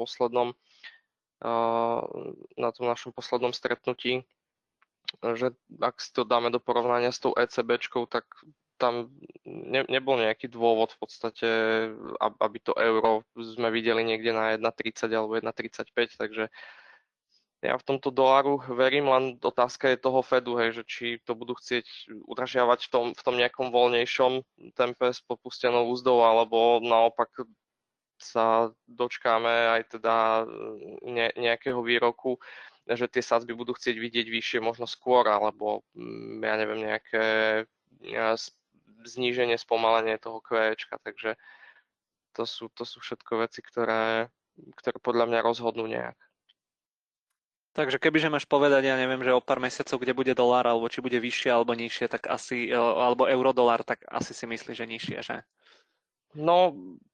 našom poslednom stretnutí, že ak si to dáme do porovnania s tou ECBčkou, tak tam nebol nejaký dôvod v podstate, aby to euro sme videli niekde na 1,30 alebo 1,35, takže ja v tomto doláru verím, len otázka je toho Fedu, hej, že či to budú chcieť udržiavať v tom nejakom voľnejšom tempe s popustenou úzdou, alebo naopak sa dočkáme aj teda nejakého výroku, že tie sadzby budú chcieť vidieť vyššie možno skôr, alebo ja neviem, nejaké zníženie, spomalenie toho QEčka, takže to sú všetko veci, ktoré podľa mňa rozhodnú nejak. Takže kebyže máš povedať, ja neviem, že o pár mesiacov, kde bude dolár, alebo či bude vyššie alebo nižšie, tak asi, alebo eurodolár, tak asi si myslíš, že nižšie, že? No,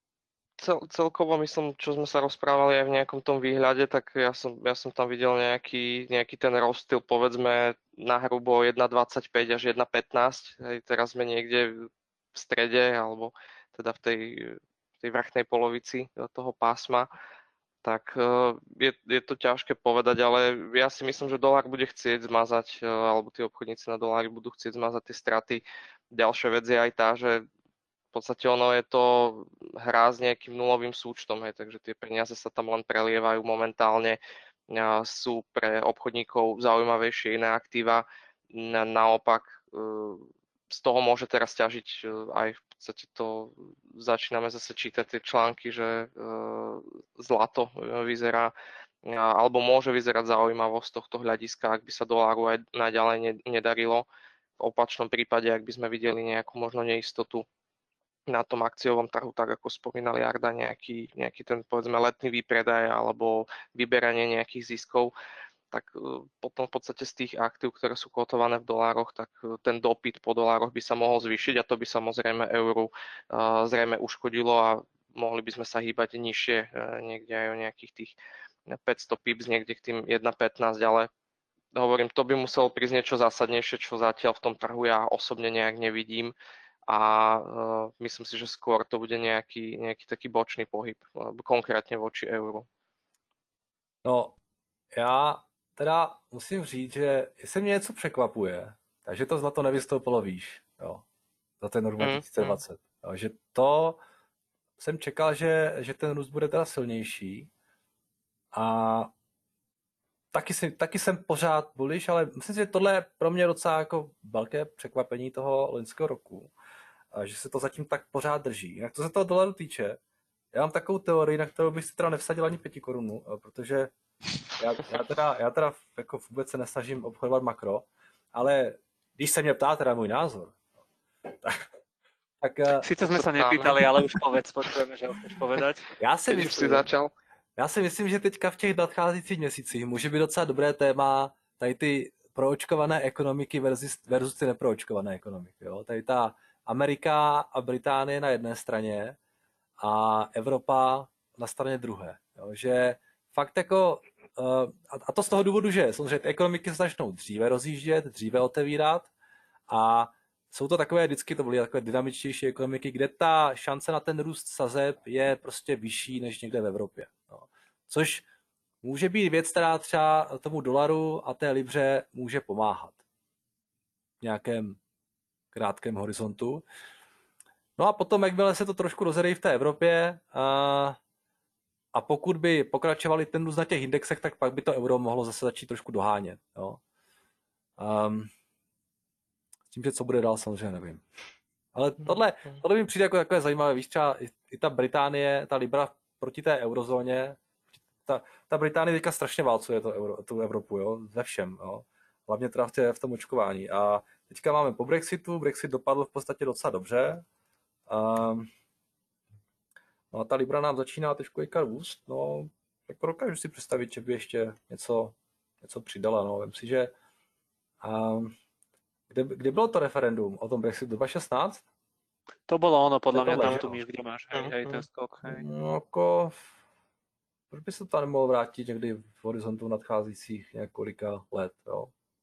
celkovo myslím, čo sme sa rozprávali aj v nejakom tom výhľade, tak ja som tam videl nejaký ten rozstyl, povedzme na hrubo 1,25 až 1,15. Teraz sme niekde v strede, alebo teda v tej vrchnej polovici toho pásma. Tak je to ťažké povedať, ale ja si myslím, že dolár bude chcieť zmazať, alebo tí obchodníci na dolári budú chcieť zmazať tie straty. Ďalšia vec je aj tá, že v podstate ono je to hra s nejakým nulovým súčtom, hej, takže tie peniaze sa tam len prelievajú momentálne, sú pre obchodníkov zaujímavejšie iné aktíva, naopak z toho môže teraz ťažiť aj v podstate to, začíname zase čítať tie články, že zlato vyzerá, alebo môže vyzerať zaujímavo z tohto hľadiska, ak by sa doláru aj naďalej nedarilo. V opačnom prípade, ak by sme videli nejakú možno neistotu na tom akciovom trhu, tak ako spomínal Jarda, nejaký ten povedzme letný výpredaj alebo vyberanie nejakých ziskov, tak potom v podstate z tých aktív, ktoré sú kotované v dolároch, tak ten dopyt po dolároch by sa mohol zvýšiť a to by samozrejme euru zrejme uškodilo a mohli by sme sa hýbať nižšie, niekde aj o nejakých tých 500 pips, niekde k tým 1,15, ale hovorím, to by muselo prísť niečo zásadnejšie, čo zatiaľ v tom trhu ja osobne nejak nevidím. A myslím si, že skôr to bude nejaký taký bočný pohyb, konkrétne voči euru. No, já teda musím říct, že jestli mě něco překvapuje, takže to zlato nevystoupilo výš, jo, za ten rok 2020. Jo, že to jsem čekal, že ten růst bude teda silnější a taky jsem pořád bullish, ale myslím si, že tohle je pro mě docela jako velké překvapení toho loňského roku, a že se to zatím tak pořád drží. Jinak to se toho dolaru týče, já mám takovou teorii, na kterou bych si teda nevsadil ani 5 korun, protože já teda jako vůbec se nesnažím obchodovat makro, ale když se mě ptá teda můj názor, tak Sice sme sa nepýtali, ale už povedz, počujeme, že ho chceš povedať. Já si myslím, že teďka v těch nadcházejících měsících může být docela dobré téma tady ty proočkované ekonomiky versus ty neproočkované ekonomiky. Jo? Tady ta Amerika a Británie na jedné straně a Evropa na straně druhé. Jo? Že fakt jako, a to z toho důvodu, že samozřejmě ty ekonomiky se začnou dříve rozjíždět, dříve otevírat a jsou to takové, vždycky to byly takové dynamičtější ekonomiky, kde ta šance na ten růst sazeb je prostě vyšší než někde v Evropě. No. Což může být věc, která třeba tomu dolaru a té libře může pomáhat v nějakém krátkém horizontu. No a potom, jakmile se to trošku rozjedejí v té Evropě a pokud by pokračovali ten růst na těch indexech, tak pak by to euro mohlo zase začít trošku dohánět. Jo. S tím, že co bude dál, samozřejmě nevím. Ale tohle mi přijde jako takové zajímavé. Víš, třeba i ta Británie, ta libra proti té eurozóně, ta Británie teďka strašně válcuje tu Evropu, jo, ze všem, jo. Hlavně teda v tom očkování. A teďka máme po Brexitu, Brexit dopadl v podstatě docela dobře. No a ta libra nám začíná trošku růst, no, jako dokážu si představit, že by ještě něco přidala, no, vem si, že kde bylo to referendum o tom Brexitu? 2016? To bolo ono, podľa mňa tam tu míš, kde máš, hej, ten skok, hej. No jako, proč by se to nemohlo vrátit někdy v horizontu nadcházejících několika let, jo?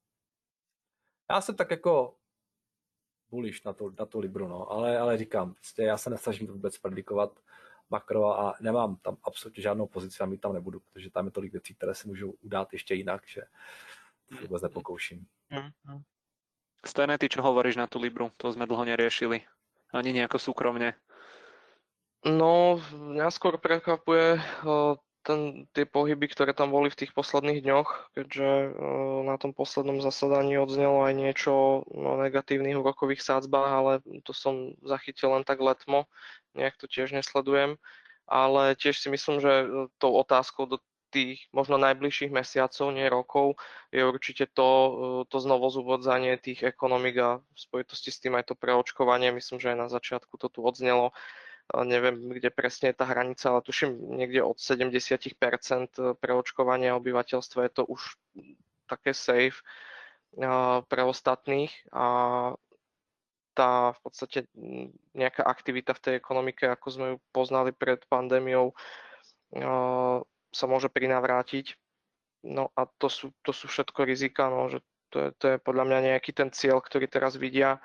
Já jsem tak jako bullish na tu libru, no, ale říkám, prostě já se nesnažím vůbec predikovat makro a nemám tam absolutně žádnou pozici a mít tam nebudu, protože tam je tolik věcí, které se můžou udát ještě jinak, že vůbec nepokouším. Stejné ty, čo hovoríš na tú libru, to sme dlho neriešili. Ani nejako súkromne. No, mňa skôr prekvapuje tie pohyby, ktoré tam boli v tých posledných dňoch, keďže na tom poslednom zasadaní odznelo aj niečo o negatívnych úrokových sádzbách, ale to som zachytil len tak letmo, nejak to tiež nesledujem. Ale tiež si myslím, že tou otázkou do tých možno najbližších mesiacov, nie rokov, je určite to znovuzúvodzanie tých ekonomik a v spojitosti s tým aj to preočkovanie. Myslím, že aj na začiatku to tu odznelo. Neviem, kde presne je tá hranica, ale tuším niekde od 70% preočkovania obyvateľstva je to už také safe pre ostatných a tá v podstate nejaká aktivita v tej ekonomike, ako sme ju poznali pred pandémiou, sa môže prinavrátiť. No a to sú všetko rizika, no, že to je podľa mňa nejaký ten cieľ, ktorý teraz vidia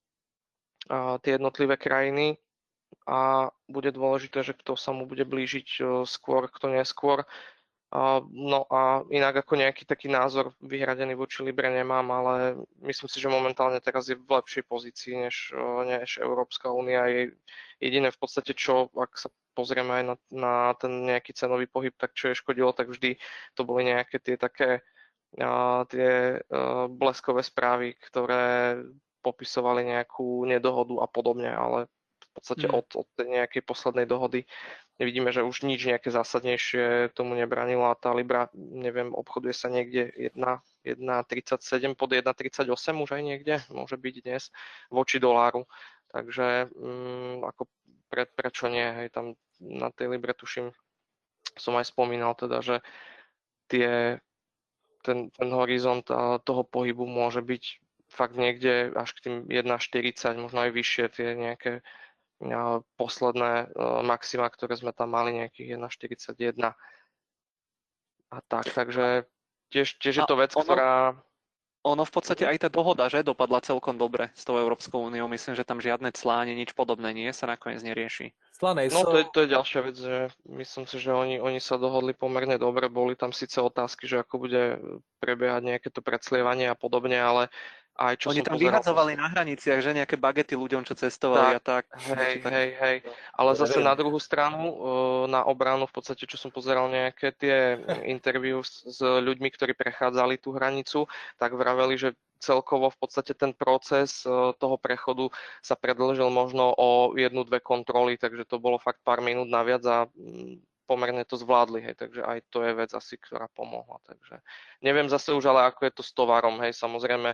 tie jednotlivé krajiny a bude dôležité, že kto sa mu bude blížiť skôr, kto neskôr. No a inak ako nejaký taký názor vyhradený voči Libre nemám, ale myslím si, že momentálne teraz je v lepšej pozícii než Európska únia. Je jediné v podstate, čo, ak sa pozrieme aj na ten nejaký cenový pohyb, tak čo je škodilo, tak vždy to boli nejaké tie také tie bleskové správy, ktoré popisovali nejakú nedohodu a podobne, ale v podstate od tej nejakej poslednej dohody vidíme, že už nič nejaké zásadnejšie tomu nebranilo a tá Libra, neviem, obchoduje sa niekde 1,37 pod 1,38 už aj niekde, môže byť dnes voči doláru. Takže ako prečo nie, hej, tam na tej Libre tuším, som aj spomínal teda, že ten horizont toho pohybu môže byť fakt niekde až k tým 1,40, možno aj vyššie tie nejaké posledné maxima, ktoré sme tam mali, nejakých 1,41 a tak, takže tiež je to vec, ktorá Ono v podstate aj tá dohoda, že dopadla celkom dobre s tou Európskou úniou. Myslím, že tam žiadne clá ani nič podobné nie sa nakoniec nerieši. Cla No nejsou, to je ďalšia vec, že myslím si, že oni sa dohodli pomerne dobre, boli tam síce otázky, že ako bude prebiehať nejaké to predslievanie a podobne, ale aj čo Oni som tam pozeral, vyhadzovali na hraniciach, že nejaké bagety ľuďom, čo cestovali a tak, tak. hej, Niečo tak. hej, ale to zase neviem. na druhú stranu, na obranu v podstate, čo som pozeral nejaké tie interview s ľuďmi, ktorí prechádzali tú hranicu, tak vraveli, že celkovo v podstate ten proces toho prechodu sa predĺžil možno o 1-2 kontroly, takže to bolo fakt pár minút naviac a pomerne to zvládli, hej, takže aj to je vec asi, ktorá pomohla, takže neviem zase už ale ako je to s tovarom, hej, samozrejme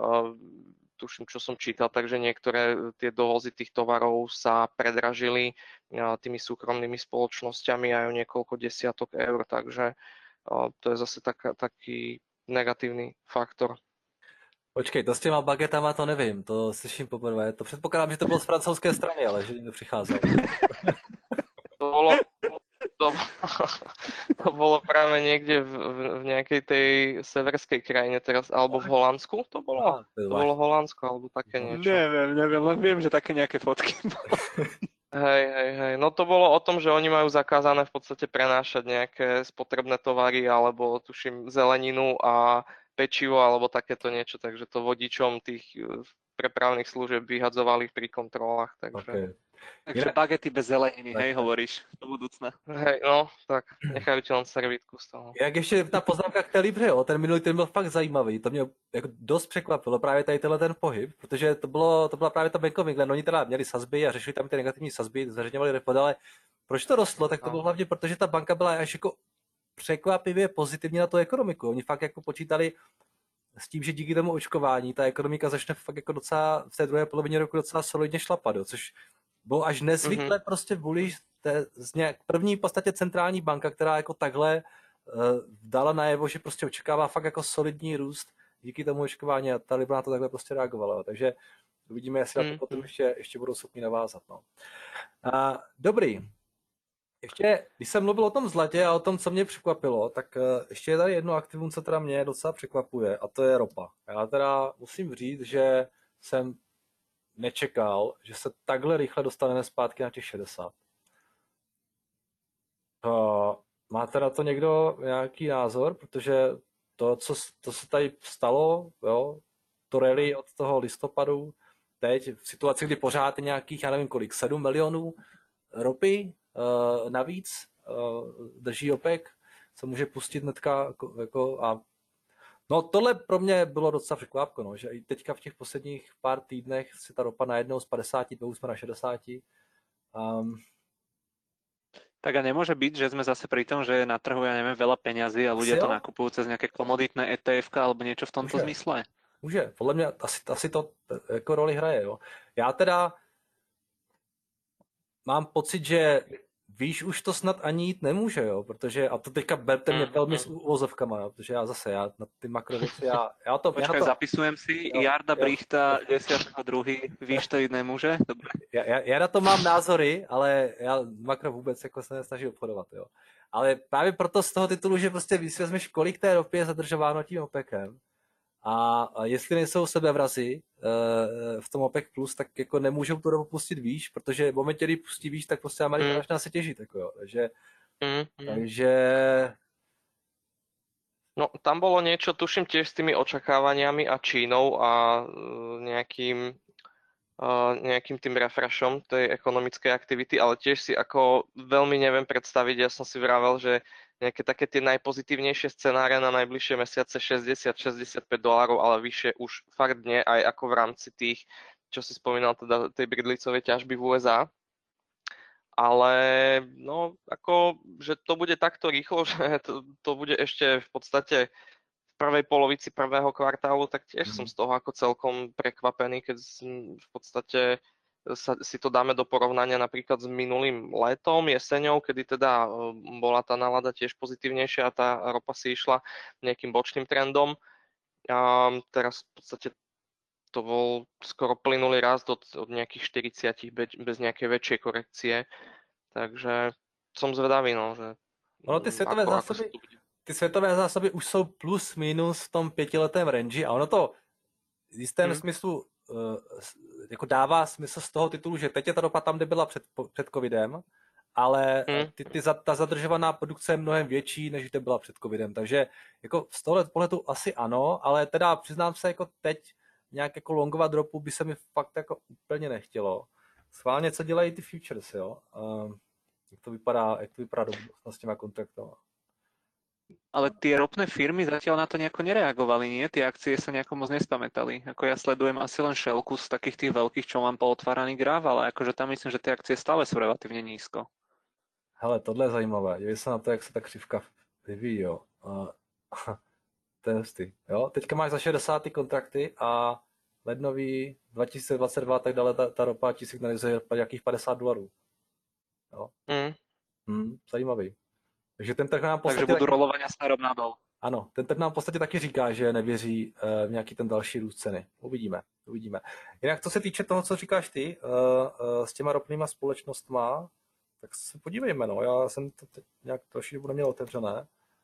tuším, čo som čítal, takže niektoré tie dovozy tých tovarov sa predražili tými súkromnými spoločnosťami aj o niekoľko desiatok eur, takže to je zase taký negatívny faktor. Počkej, to s těma bagetama to nevím, to slyším poprvé. To předpokládám, že to bylo z francouzské strany, ale že někdo přicházel. To bolo, to, to bolo práve niekde v nejakej tej severskej krajine teraz, alebo v Holandsku to bolo? Aha, To bolo Holandsko, alebo také niečo. Neviem, len viem, že také nejaké fotky. Hej. No to bolo o tom, že oni majú zakázané v podstate prenášať nejaké spotrebné tovary alebo tuším zeleninu a pečivo alebo takéto niečo, takže to vodičom tých prepravných služieb vyhadzovali pri kontrolách, takže... Okay. Takže bagety bez zeleniny, hej, hovoríš, do budúcna. Hej, no, tak nechajú ti len servítku z toho. Jak ještě ta poznámka k té Libře, jo, ten minulý ten byl fakt zajímavý, to mě jako dost překvapilo, právě tady tenhle ten pohyb, protože to byla právě ta Bank of England, oni teda měli sazby a řešili tam ty negativní sazby, zveřejňovali report, ale proč to rostlo, tak to bylo hlavně proto, že ta banka byla až jako překvapivě pozitivní na tu ekonomiku, oni fakt jako počítali s tím, že díky tomu očkování ta ekonomika začne fakt jako docela v té druhé polovině roku docela solidně šlapat, jo, což bylo až nezvykle prostě bullish, první v podstatě centrální banka, která jako takhle dala najevo, že prostě očekává fakt jako solidní růst díky tomu očkování a ta Libra na to takhle prostě reagovala. Takže uvidíme, jestli na to potom ještě budou schopni navázat. No. Dobrý. Ještě, když jsem mluvil o tom zlatě a o tom, co mě překvapilo, tak ještě je tady jedno aktivum, co teda mě docela překvapuje, a to je ropa. Já teda musím říct, že jsem nečekal, že se takhle rychle dostaneme zpátky na těch 60. Máte na to někdo nějaký názor? Protože to se tady stalo, jo, to rally od toho listopadu, teď v situaci, kdy pořád je nějakých, já nevím kolik, 7 milionů ropy navíc drží OPEC, co může pustit hnedka jako a no tohle pro mě bylo docela překvapko, no, že i teďka v těch posledních pár týdnech si ta ropa najednou z 52 jsme na 60. Tak a nemôže byť, že sme zase pri tom, že na trhu, ja neviem, veľa peňazí a ľudia to nakupujú cez nejaké komoditné ETF alebo niečo v tomto zmysle? Může, podle mě asi to jako roli hraje, jo. Já teda mám pocit, že výš už to snad ani jít nemůže, jo, protože, a to teďka berte mě velmi s uvozovkama, jo, protože já na ty makrověci, já to... Počkaj, zapisujem si, Jarda Brichta, 10.2. výš to jít nemůže, dobre. Já na to mám názory, ale já makro vůbec jako se nesnaží obchodovat, jo. Ale právě proto z toho titulu, že prostě když si vezmeš, kolik té ropy je zadržováno tím OPECem, a jestli nejsou sebevrazy v tom OPEC+, tak jako nemůžou tu ropu pustit výš, protože v momentě, kdy pustí výš, tak prostě Amerika začne se těžit. Jako jo. Takže... No, tam bolo niečo, tuším tiež s tými očakávaniami a Čínou a nejakým tým refreshom tej ekonomickej aktivity, ale tiež si ako veľmi neviem predstaviť, ja som si vravel, že nejaké také tie najpozitívnejšie scenáre na najbližšie mesiace $60-65, ale vyššie už fakt nie, aj ako v rámci tých, čo si spomínal, teda tej bridlicovej ťažby v USA. Ale no, ako, že to bude takto rýchlo, že to bude ešte v podstate v prvej polovici prvého kvartálu, tak tiež som z toho ako celkom prekvapený, keď v podstate si to dáme do porovnania napríklad s minulým letom, jeseňou, kedy teda bola tá nálada tiež pozitívnejšia a tá ropa si išla nejakým bočným trendom. A teraz v podstate to bol skoro plynulý rast od nejakých 40 bez nejakej väčšej korekcie. Takže som zvedavý, no, že ono ty ty světové zásoby už jsou plus minus v tom 5letém range a ono to v jistém smyslu jako dává smysl z toho titulu, že teď je ta ropa tam, kde byla před covidem, ale ta zadržovaná produkce je mnohem větší, než kde byla před covidem, takže jako z tohle pohledu asi ano, ale teda přiznám se, jako teď nějak jako longovat ropu by se mi fakt jako úplně nechtělo. Schválně, co dělají ty futures, jo? Jak to vypadá do budoucna s těma kontraktama? Ale tie ropné firmy zatiaľ na to nejako nereagovali, nie? Tie akcie sa nejako moc nespamätali. Ako ja sledujem asi len Shellku z takých tých veľkých, čo mám pootváraný graf, ale akože tam myslím, že tie akcie stále sú relatívne nízko. Hele, tohle je zajímavé. Dívej se na to, jak se ta křivka vyvíjí, jo. To je hustý, jo. Teďka máš za 60 kontrakty a lednový 2022 tak dále ta ropa ti signalizuje nějakých $50. Jo. Zajímavý. Takže ten trh nám v podstatě... Takže budú rolovania smerom nadol. Ano, ten trh nám v podstatě taky říká, že nevěří v nějaký ten další růst ceny. Uvidíme. Jinak co se týče toho, co říkáš ty, s těma ropnýma společnostma, tak se podívejme, no. Já jsem to teď nějak trošku dobu neměl otevřené.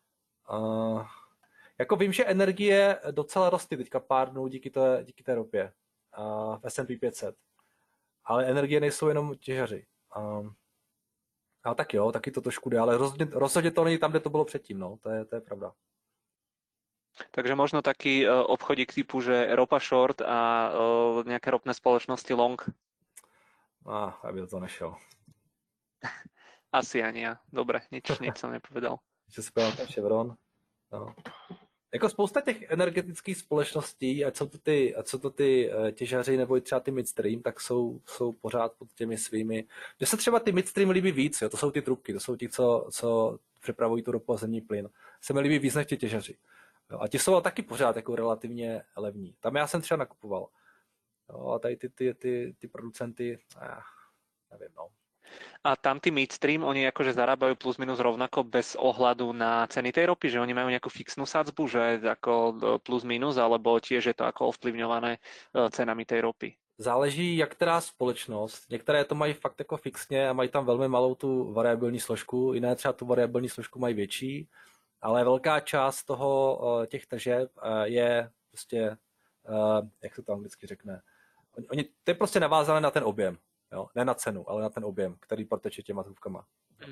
Jako vím, že energie docela rostly teďka pár dnů díky té ropě v S&P 500. Ale energie nejsou jenom těžaři. A tak jo, taky to trošku jde, ale rozhodně to není tam, kde to bylo předtím, no, to je pravda. Takže možno taký obchodík typu, že ropa short a nejaké ropné spoločnosti long? Já by to nešel. Asi ani ja. Dobre, nič som nepovedal. Že se podívám ten Chevron. No. Jako spousta těch energetických společností, ať jsou to ty těžaři nebo i třeba ty midstream, tak jsou pořád pod těmi svými. Mně se třeba ty midstream líbí víc, jo? To jsou ty trubky, to jsou ti, co přepravují tu ropu a zemní plyn. Se mi líbí víc než ti těžaři. Jo? A ti jsou taky pořád jako relativně levní. Tam já jsem třeba nakupoval. Jo? A tady ty producenty, nevím, no. A tam tí midstream, oni akože zarábajú plus minus rovnako bez ohľadu na ceny tej ropy, že oni majú nejakú fixnú sadzbu, že ako plus minus, alebo tiež je to ako ovplyvňované cenami tej ropy? Záleží, jak která společnost. Některé to mají fakt jako fixně a mají tam velmi malou tu variabilní složku, jiné třeba tu variabilní složku mají větší, ale velká část těch tržeb je prostě, jak se to anglicky řekne, to je prostě navázané na ten objem. Jo? Ne na cenu, ale na ten objem, který proteče těma trubkama.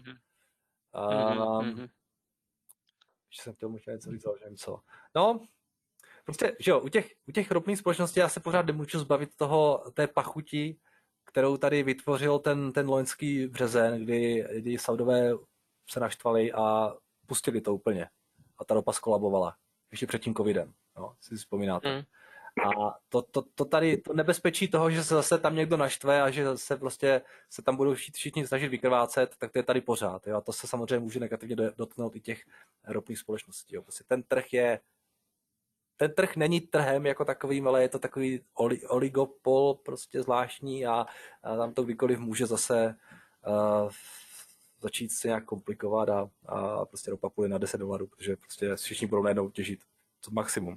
Ještě jsem chtěl možná něco říct, že nevím co. No, prostě, že jo, u těch ropných společností já se pořád nemůžu zbavit té pachuti, kterou tady vytvořil ten loňský březen, kdy Saudové se naštvali a pustili to úplně. A ta ropa skolabovala. Ještě před tím covidem, no, si vzpomínáte. A to tady, to nebezpečí toho, že se zase tam někdo naštve a že se prostě se tam budou všichni snažit vykrvácet, tak to je tady pořád. Jo? A to se samozřejmě může negativně dotknout i těch ropných společností. Jo? Prostě ten trh není trhem jako takovým, ale je to takový oligopol prostě zvláštní a tam to kdykoliv může zase začít se nějak komplikovat a prostě ropa půjde na $10, protože prostě všichni budou najednou těžit to maximum.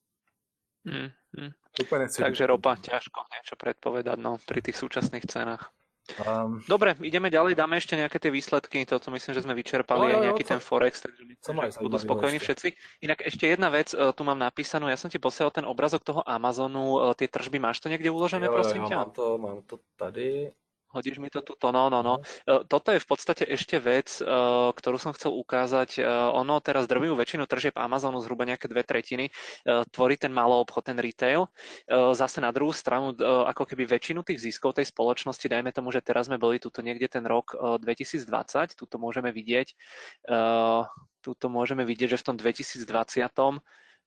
Takže ropa, ťažko niečo predpovedať, no, pri tých súčasných cenách. Dobre, ideme ďalej, dáme ešte nejaké tie výsledky, toto myslím, že sme vyčerpali aj nejaký ten Forex, takže myslím, že budú spokojní všetci. Inak ešte jedna vec, tu mám napísanú, ja som ti posielal ten obrazok toho Amazonu, tie tržby, máš to niekde uložené, prosím ťa? Mám to tady. Hodíš mi to tuto, no. Toto je v podstate ešte vec, ktorú som chcel ukázať. Ono teraz drvivú väčšinu tržieb Amazonu, zhruba nejaké 2/3, tvorí ten maloobchod, ten retail. Zase na druhú stranu, ako keby väčšinu tých ziskov tej spoločnosti, dajme tomu, že teraz sme boli tuto niekde ten rok 2020, tuto môžeme vidieť, že v tom 2020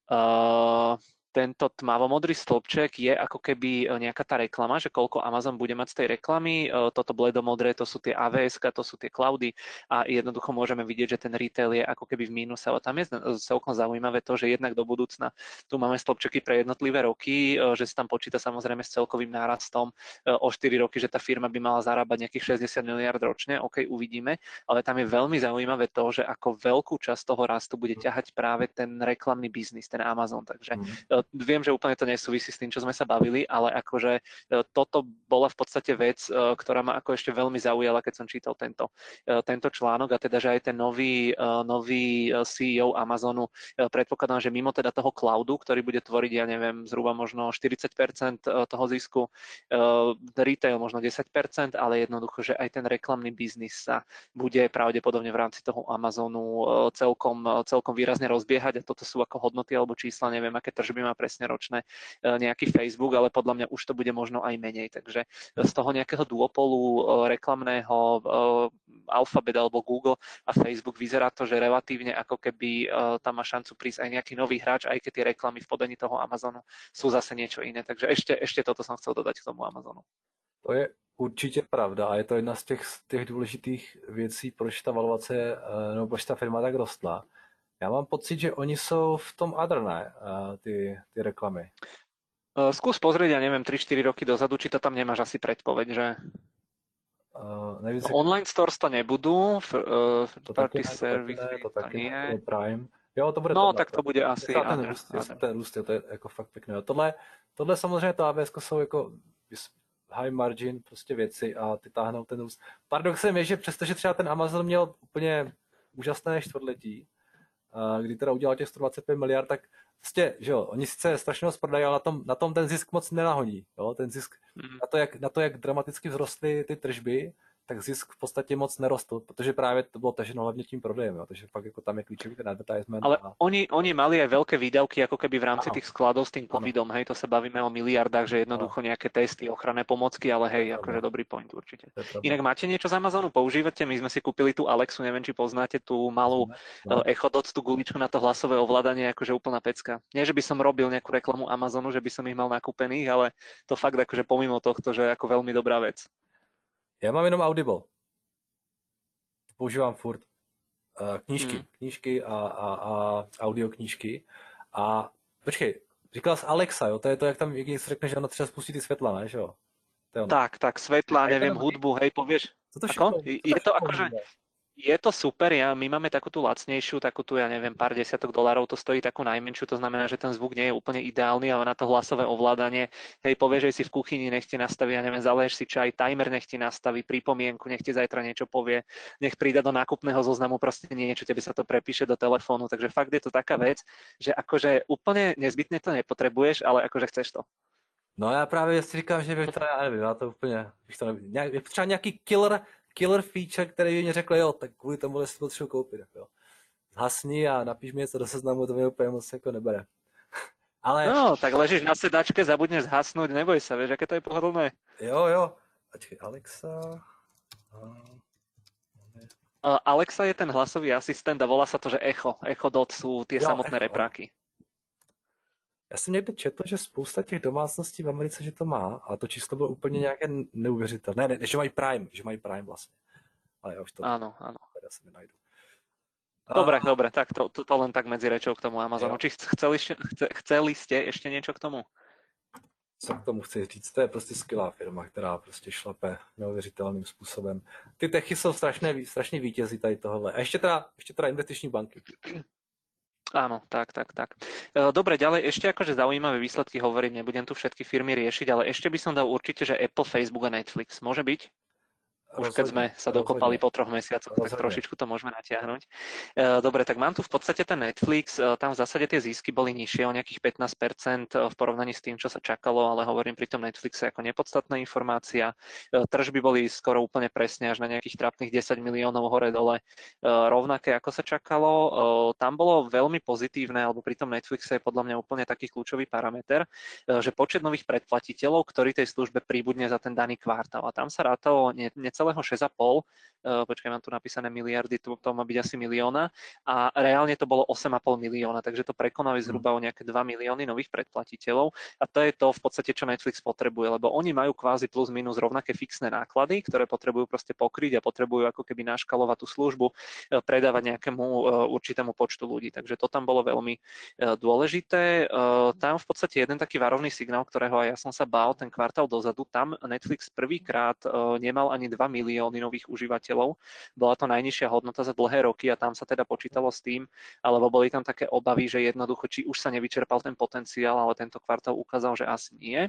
tento tmavomodrý stĺpček je ako keby nejaká tá reklama, že koľko Amazon bude mať z tej reklamy. Toto bledomodré, to sú tie AWS, to sú tie cloudy a jednoducho môžeme vidieť, že ten retail je ako keby v mínuse. Ale tam je celkom zaujímavé to, že jednak do budúcna tu máme stĺpčeky pre jednotlivé roky, že sa tam počíta samozrejme s celkovým nárastom o 4 roky, že tá firma by mala zarábať nejakých 60 miliard ročne. OK, uvidíme, ale tam je veľmi zaujímavé to, že ako veľkú časť toho rastu bude ťahať práve ten reklamný biznis, ten Amazon. Takže Viem, že úplne to nesúvisí s tým, čo sme sa bavili, ale akože toto bola v podstate vec, ktorá ma ako ešte veľmi zaujala, keď som čítal tento článok, a teda, že aj ten nový CEO Amazonu predpokladám, že mimo teda toho cloudu, ktorý bude tvoriť, ja neviem, zhruba možno 40% toho zisku, retail možno 10%, ale jednoducho, že aj ten reklamný biznis sa bude pravdepodobne v rámci toho Amazonu celkom výrazne rozbiehať, a toto sú ako hodnoty alebo čísla, neviem, aké tržby má presne ročné nejaký Facebook, ale podľa mňa už to bude možno aj menej. Takže z toho nejakého duopolu reklamného Alphabet alebo Google a Facebook vyzerá to, že relatívne ako keby tam má šancu prísť aj nejaký nový hráč, aj keď tie reklamy v podaní toho Amazonu sú zase niečo iné. Takže ešte toto som chcel dodať k tomu Amazonu. To je určitě pravda a je to jedna z těch důležitých věcí, proč ta valuace nebo proč ta firma tak rostla. Já mám pocit, že oni jsou v tom other, ne? Ty reklamy. Skús pozrieť, ja neviem, 3-4 roky dozadu, či to tam nemáš asi predpoveď, že online stores to nebudú, to party service to taky nie. Ne, Prime. Jo, to bude no, tohle, tak to bude asi ten růst, to je jako fakt pěkné. Tohle samozřejmě to AWS jsou jako high margin prostě věci a ty táhnou ten růst. Paradoxem je, že přestože třeba ten Amazon měl úplně úžasné čtvrtletí, kdy teda udělal těch 125 miliard, tak prostě, že jo, oni sice strašně moc prodají, ale na tom ten zisk moc nenahoní. Jo? Ten zisk na to, jak dramaticky vzrostly ty tržby, tak zisk v podstatě moc nerostl, protože právě to bylo taženo hlavně tím prodejem, jo? Takže fakt jako tam je klíčový ten advertisement. Ale oni mali aj veľké výdavky ako keby v rámci tých skladov s tým covidom, hej, to sa bavíme o miliardách, že jednoducho nejaké testy, ochranné pomocky, ale hej, akože dobrý point určite. Inak máte niečo z Amazonu, používate? My sme si kúpili tú Alexu, neviem, či poznáte tú malú Echo Dot, tú guličku na to hlasové ovládanie, akože úplná pecka. Nie, že by som robil nejakú reklamu Amazonu, že by som ich mal nakúpených, ale to fakt akože pomimo tohto, že ako veľmi dobrá vec. Já mám jenom Audible. Používám furt knížky a audioknížky. A počkej, říkal jsi Alexa, jo? To je to, jak tam někdy řekne, že ona třeba spustí ty světla, ne? Že jo? Tak, svetla, neviem, hudbu, hej, povieš. Je to akože... Je to super, my máme takú tú lacnejšiu, takú tu, ja neviem, pár desiatok dolárov, to stojí takú najmenšiu, to znamená, že ten zvuk nie je úplne ideálny, ale na to hlasové ovládanie, hej, povieš, že si v kuchyni, nech ti nastaví, ja neviem, zaleješ si čaj, timer nech ti nastaví, pripomienku, nech ti zajtra niečo povie, nech prída do nákupného zoznamu proste niečo, tebe sa to prepíše do telefónu, takže fakt je to taká vec, že akože úplne nezbytne to nepotrebuješ, ale akože chceš to. No já právě si říkám, že bych to, já nevím, já to úplně, bych to nevím, třeba nějaký killer feature, který mi řekl, jo, tak kvůli tomu si potřebuji koupit. Jo. Zhasni a napíš mi něco do seznamu, to mě úplně moc jako nebere. Ale... No, tak ležíš na sedačke, zabudneš zhasnúť, neboj sa, vieš, aké to je pohodlné. Jo. Počkej, Alexa... Alexa je ten hlasový asistent a volá sa to, že Echo Dot sú tie samotné repráky. Já jsem někde četl, že spousta těch domácností v Americe, že to má, a to číslo bylo úplně nějaké neuvěřitelné. Ne, že mají Prime vlastně. Ale já už to... Áno. Teda si mi najdu. Dobre, tak to len tak medzi rečou k tomu Amazonu. Či chceli ste ešte niečo k tomu? Co k tomu chci říct? To je prostě skvělá firma, která prostě šlape neuvěřitelným způsobem. Ty techy jsou strašně vítězí tady tohle. A ještě teda investiční banky. Áno, tak. Dobre, ďalej ešte akože zaujímavé výsledky hovorím, nebudem tu všetky firmy riešiť, ale ešte by som dal určite, že Apple, Facebook a Netflix. Môže byť? Už keď sme sa dokopali po 3 mesiacoch, tak trošičku to môžeme natiahnuť. Dobre, tak mám tu v podstate ten Netflix, tam v zásade tie zisky boli nižšie o nejakých 15% v porovnaní s tým, čo sa čakalo, ale hovorím pri tom Netflixe ako nepodstatná informácia. Tržby boli skoro úplne presne až na nejakých trápnych 10 miliónov hore-dole rovnaké, ako sa čakalo. Tam bolo veľmi pozitívne, alebo pri tom Netflixe je podľa mňa úplne taký kľúčový parameter, že počet nových predplatiteľov, ktorí tej službe príbudne za ten daný kvartál. A tam sa rátalo celého 6,5, počkaj, mám tu napísané miliardy, to má byť asi milióna, a reálne to bolo 8,5 milióna, takže to prekonali zhruba o nejaké 2 milióny nových predplatiteľov a to je to v podstate, čo Netflix potrebuje, lebo oni majú kvázi plus minus rovnaké fixné náklady, ktoré potrebujú proste pokryť a potrebujú ako keby naškalovať tú službu, predávať nejakému určitému počtu ľudí, takže to tam bolo veľmi dôležité. Tam v podstate jeden taký varovný signál, ktorého aj ja som sa bál ten kvartál dozadu, tam Netflix prvýkrát nemal ani 2 milióny nových užívateľov. Bola to najnižšia hodnota za dlhé roky a tam sa teda počítalo s tým, alebo boli tam také obavy, že jednoducho, či už sa nevyčerpal ten potenciál, ale tento kvartál ukázal, že asi nie.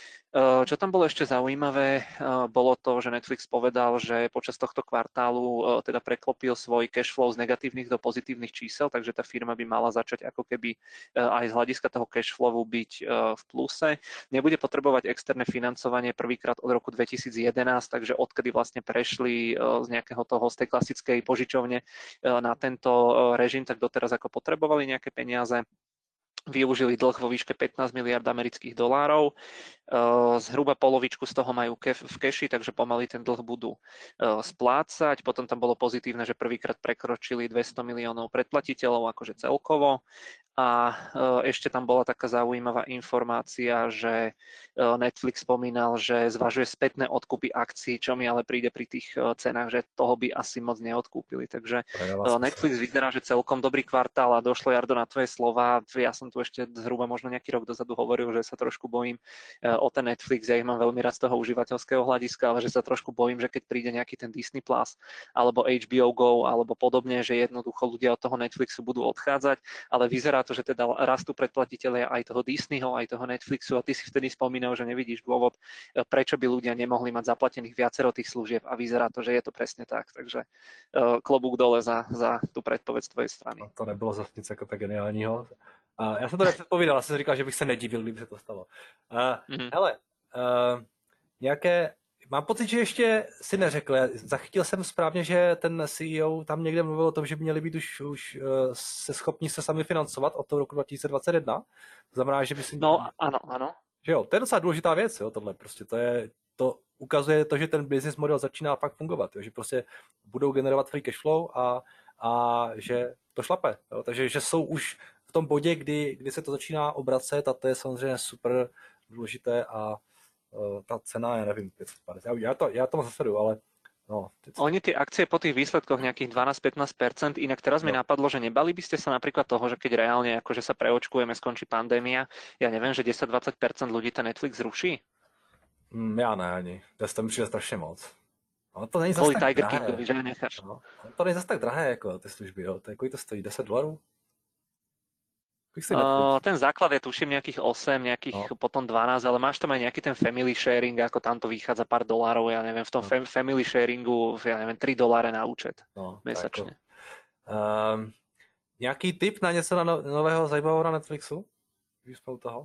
Čo tam bolo ešte zaujímavé, bolo to, že Netflix povedal, že počas tohto kvartálu teda preklopil svoj cash flow z negatívnych do pozitívnych čísel, takže tá firma by mala začať ako keby aj z hľadiska toho cash flowu byť v pluse. Nebude potrebovať externé financovanie prvýkrát od roku 2011, takže odkedy vlastne prešli z nejakého toho, z tej klasickej požičovne na tento režim, tak doteraz ako potrebovali nejaké peniaze. Využili dlh vo výške 15 miliard amerických dolárov. Zhruba polovičku z toho majú v keši, takže pomaly ten dlh budú splácať. Potom tam bolo pozitívne, že prvýkrát prekročili 200 miliónov predplatiteľov, akože celkovo. A ešte tam bola taká zaujímavá informácia, že Netflix spomínal, že zvažuje spätné odkupy akcií, čo mi ale príde pri tých cenách, že toho by asi moc neodkúpili. Takže Netflix vyzerá, že celkom dobrý kvartál a došlo, Jardo, na tvoje slova. Ja som tu ešte zhruba možno nejaký rok dozadu hovoril, že sa trošku bojím o ten Netflix. Ja ich mám veľmi rád z toho užívateľského hľadiska, ale že sa trošku bojím, že keď príde nejaký ten Disney Plus alebo HBO Go alebo podobne, že jednoducho ľudia od toho Netflixu budú odchádzať, ale vyzerá to, že teda rastú predplatitelia aj toho Disneyho, aj toho Netflixu a ty si vtedy spomínal, že nevidíš dôvod, prečo by ľudia nemohli mať zaplatených viacero tých služieb a vyzerá to, že je to presne tak. Takže klobúk dole za tú predpoveď z tvojej strany. No, to nebylo zase nic jako tak geniálního. Já jsem to nepředpovídal, já jsem říkal, že bych se nedivil, kdyby se to stalo. Hele, nějaké... Mám pocit, že ještě si neřekl. Zachytil jsem správně, že ten CEO tam někde mluvil o tom, že by měli být už se schopni se sami financovat od toho roku 2021. To znamená, že by si... No, ano. Že jo, to je docela důležitá věc, jo, tohle. Prostě to ukazuje to, že ten business model začíná fakt fungovat, jo, že prostě budou generovat free cash flow a že to šlape. Jo, takže že jsou už v tom bodě, kdy se to začíná obracet a to je samozřejmě super důležité a tá cena, ja neviem, 550. Ja to moc zasledujú, ale no. Oni tie akcie po tých výsledkoch nejakých 12-15%, inak teraz mi napadlo, že nebali by ste sa napríklad toho, že keď reálne akože sa preočkujeme, skončí pandémia, ja neviem, že 10-20% ľudí ten Netflix zruší? Ja ne, ani. To mi přijde strašne moc. Ale to není zase tak Tiger drahé. Kingovi, že necháš. No, to není zase tak drahé, jako ty služby, jo. Kolik to stojí? $10? Ten základ je tuším nejakých 8, potom 12, ale máš tam aj nejaký ten family sharing, ako tam to vychádza pár dolárov, ja neviem, v tom family sharingu, ja neviem, $3 na účet mesačne. Nějaký tip na něco nového zajímavého na Netflixu? Už jsme u toho?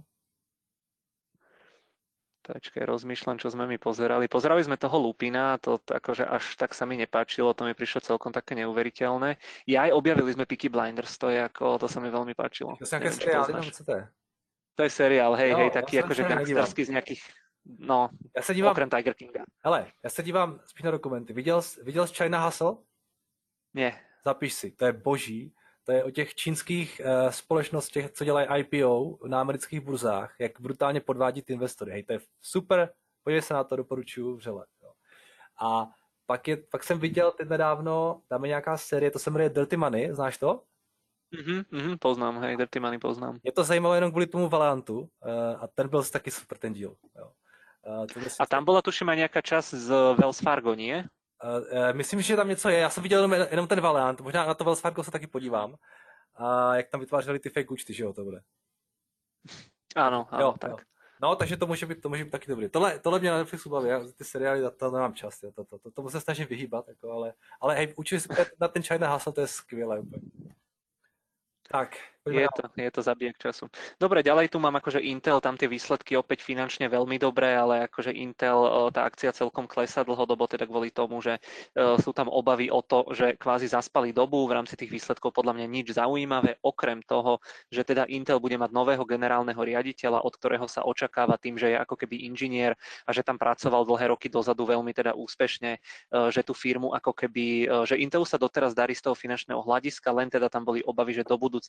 Počkaj, rozmýšľam, čo sme mi pozerali. Pozerali sme toho Lupina, to akože až tak sa mi nepáčilo, to mi prišlo celkom také neuveriteľné. Ja aj objavili sme Peaky Blinders, to sa mi veľmi páčilo. To je seriál, neviem, co to je. To je seriál, hej, taký akože gangsterský z nejakých, ja sa dívam, okrem Tiger Kinga. Hele, ja sa dívam spíš na dokumenty. Viděl jsi China Hustle? Nie. Zapiš si, to je boží. To je o těch čínských společnostech, co dělají IPO na amerických burzách, jak brutálně podvádí ty investory. Hej, to je super, podívej se na to, doporučuju vřele. Jo. A pak jsem viděl teď nedávno, tam je nějaká série, to se jmenuje Dirty Money, znáš to? Poznám, hej, Dirty Money poznám. Je to zajímavé jenom kvůli tomu Valiantu a ten byl taky super, ten díl. Jo. A tam bola tuším aj nejaká časť z Wells Fargo, nie? Myslím, že tam něco je. Já jsem viděl jenom ten Valiant, možná na to Wells Fargo se taky podívám. A jak tam vytvářeli ty fake účty, že jo, to bude. Áno, tak. Jo. No, takže to může být taky dobrý. Tohle mě na Netflixu baví, já ty seriály, to nemám čas, tomu se snažím vyhýbat, jako, ale hej, učili se na ten China Hustle, to je skvělé úplně. Tak. Je to zabijak času. Dobre, ďalej tu mám akože Intel, tam tie výsledky opäť finančne veľmi dobré, ale akože Intel, tá akcia celkom klesá dlhodobo, teda kvôli tomu, že sú tam obavy o to, že kvázi zaspali dobu v rámci tých výsledkov, podľa mňa nič zaujímavé, okrem toho, že teda Intel bude mať nového generálneho riaditeľa, od ktorého sa očakáva tým, že je ako keby inžinier a že tam pracoval dlhé roky dozadu veľmi teda úspešne, že tú firmu ako keby, že Intelu sa doteraz darí z toho finančného hľadiska, len teda tam boli obavy, že do budúcna kvôli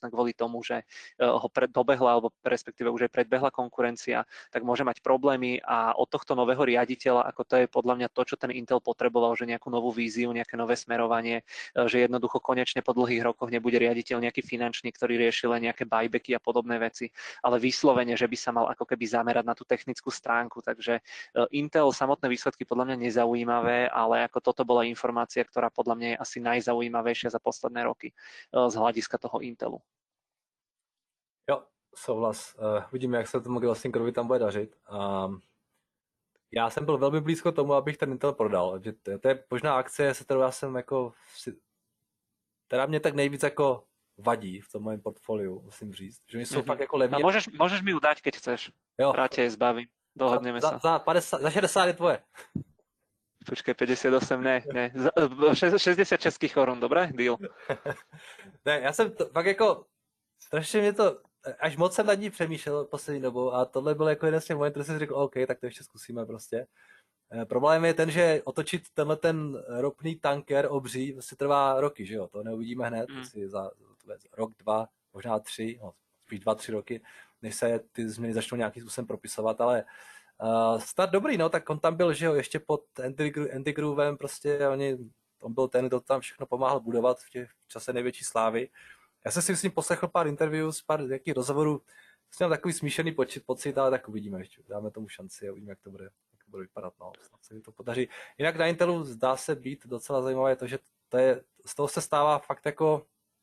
tomu, že ho dobehla, alebo respektíve už aj predbehla konkurencia, tak môže mať problémy a od tohto nového riaditeľa, ako to je podľa mňa to, čo ten Intel potreboval, že nejakú novú víziu, nejaké nové smerovanie, že jednoducho konečne po dlhých rokoch nebude riaditeľ nejaký finančný, ktorý rieši len nejaké buybacky a podobné veci, ale vyslovene, že by sa mal ako keby zamerať na tú technickú stránku. Takže Intel samotné výsledky podľa mňa nezaujímavé, ale ako toto bola informácia, ktorá podľa mňa je asi najzaujímavejšia za posledné roky z hľadiska toho Intelu. Jo, souhlas. Uvidíme, jak se tomu Glassfingerovi tam bude dařit. Já jsem byl velmi blízko tomu, abych ten Intel prodal. Že to je možná akcie, se kterou já jsem jako která mě tak nejvíc jako vadí v tom mém portfoliu, musím říct. Že oni jsou fakt jako levně. A môžeš mi ju dať, keď chceš. Jo. Rád je zbavím. Dohodneme sa. Za 60 je tvoje. Počkej, 58, ne. 60 českých korun, dobré? Deal. Ne, já jsem to, fakt jako, strašně mě to, až moc jsem nad ní přemýšlel poslední dobou a tohle byl jako jeden z těch momentů, kde jsem řekl, OK, tak to ještě zkusíme prostě. Problém je ten, že otočit tenhle ten ropný tanker obří vlastně trvá roky, že jo, to neuvidíme hned, asi za rok, 2, možná 3, no, spíš 2-3 roky, než se ty změny začnou nějakým způsobem propisovat, ale start dobrý, no, tak on tam byl, že jo, ještě pod Andy Groovem, prostě on byl ten, kdo tam všechno pomáhal budovat v čase největší slávy. Já jsem si s ním poslechl pár interviews, pár nějakých rozhovorů, jsem měl takový smíšený pocit, ale tak uvidíme ještě, dáme tomu šanci a uvidíme, jak to bude vypadat, no, snad se mi to podaří. Jinak na Intelu zdá se být docela zajímavé to, že z toho se stává fakt jako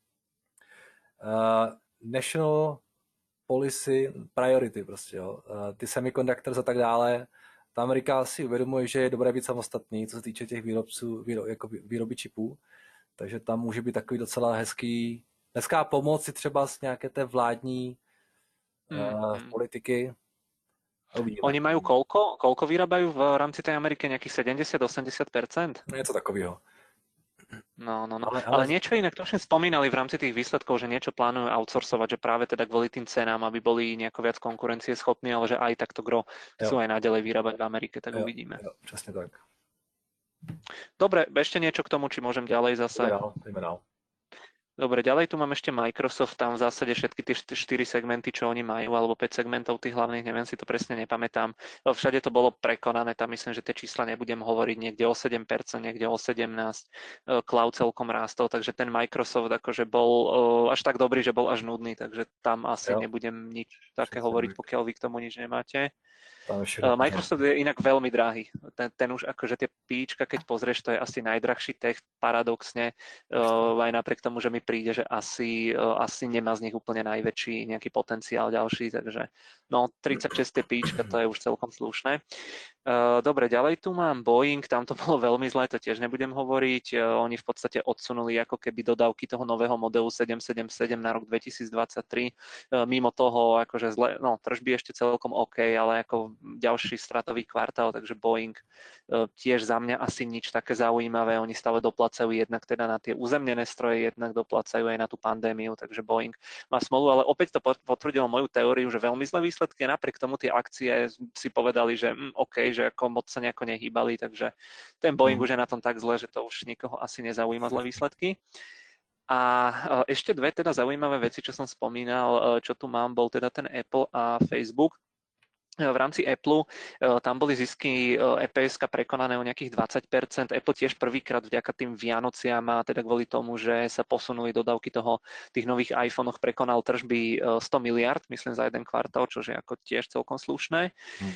national policy priority prostě, jo. Ty semiconductors a tak dále, ta Amerika si uvědomuje, že je dobré být samostatný, co se týče těch výrobců, jako výroby čipů, takže tam může být takový docela hezká pomoc i třeba z nějaké té vládní politiky. Oni majú koľko vyrábajú v rámci tej Ameriky? Nejakých 70-80%? Něco takového. No. Ale niečo inak, to už spomínali v rámci tých výsledkov, že niečo plánujú outsourcovať, že práve teda kvôli tým cenám, aby boli nejako viac konkurencie schopní, ale že aj takto gro chcú aj naďalej vyrábať v Amerike, tak uvidíme. Jo, přesně tak. Dobre, ešte niečo k tomu, či môžem ďalej zase? Ideme dál. Dobre, ďalej tu mám ešte Microsoft, tam v zásade všetky tie 4 segmenty, čo oni majú, alebo 5 segmentov tých hlavných, neviem si to presne nepamätám. Všade to bolo prekonané, tam myslím, že tie čísla nebudem hovoriť, niekde o 7%, niekde o 17%, cloud celkom rástol, takže ten Microsoft akože bol až tak dobrý, že bol až nudný, takže tam asi nebudem nič také hovoriť, pokiaľ vy k tomu nič nemáte. Microsoft je inak veľmi drahý. Ten už akože tie píčka, keď pozrieš, to je asi najdrahší tech, paradoxne, aj napriek tomu, že mi príde, že asi nemá z nich úplne najväčší nejaký potenciál ďalší, takže no 36 je píčka, to je už celkom slušné. Dobre, ďalej tu mám Boeing, tam to bolo veľmi zlé, to tiež nebudem hovoriť. Oni v podstate odsunuli ako keby dodávky toho nového modelu 777 na rok 2023. Mimo toho, akože zle, no tržby ešte celkom OK, ale ako ďalší stratový kvartál, takže Boeing tiež za mňa asi nič také zaujímavé. Oni stále doplacajú jednak teda na tie uzemnené stroje, jednak doplacajú aj na tú pandémiu, takže Boeing má smolu, ale opäť to potvrdilo moju teóriu, že veľmi zlé výsledky, napriek tomu tie akcie si povedali, že OK, že ako moc sa nejako nehýbali, takže ten Boeing už je na tom tak zle, že to už nikoho asi nezaujíma zlé výsledky. A ešte dve teda zaujímavé veci, čo som spomínal, čo tu mám, bol teda ten Apple a Facebook. V rámci Apple tam boli zisky EPS-ka prekonané o nejakých 20%. Apple tiež prvýkrát vďaka tým Vianociam a teda kvôli tomu, že sa posunuli dodávky tých nových iPhone-och, prekonal tržby 100 miliard, myslím za jeden kvartál, čo je ako tiež celkom slušné.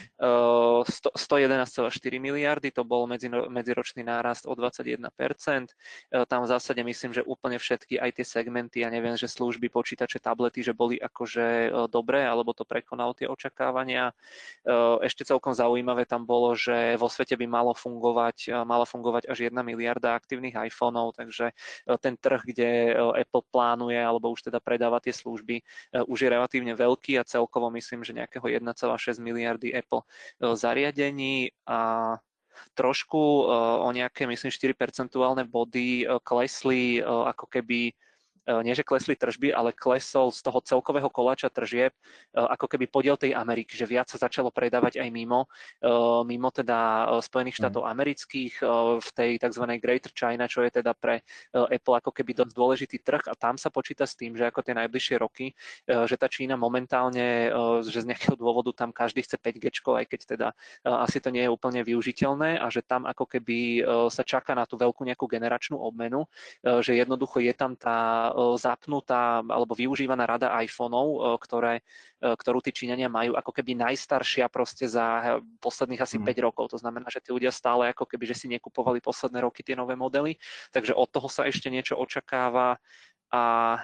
111,4 miliardy, to bol medziročný nárast o 21%. Tam v zásade myslím, že úplne všetky aj tie segmenty, ja neviem, že služby, počítače, tablety, že boli akože dobré, alebo to prekonalo tie očakávania. Ešte celkom zaujímavé tam bolo, že vo svete by mala fungovať až 1 miliarda aktívnych iPhoneov, takže ten trh, kde Apple plánuje alebo už teda predáva tie služby, už je relatívne veľký a celkovo myslím, že nejakého 1,6 miliardy Apple zariadení a trošku o nejaké, myslím, 4 percentuálne body klesli ako keby nie že klesli tržby, ale klesol z toho celkového koláča tržieb ako keby podiel tej Ameriky, že viac sa začalo predávať aj mimo teda Spojených štátov amerických v tej tzv. Greater China, čo je teda pre Apple ako keby dosť dôležitý trh, a tam sa počíta s tým, že ako tie najbližšie roky, že tá Čína momentálne, že z nejakého dôvodu tam každý chce 5G, aj keď teda asi to nie je úplne využiteľné, a že tam ako keby sa čaká na tú veľkú nejakú generačnú obmenu, že jednoducho je tam tá zapnutá alebo využívaná rada iPhoneov, ktorú tí Číňania majú ako keby najstaršia proste za posledných asi 5 rokov. To znamená, že tí ľudia stále ako keby, že si nekupovali posledné roky tie nové modely, takže od toho sa ešte niečo očakáva. A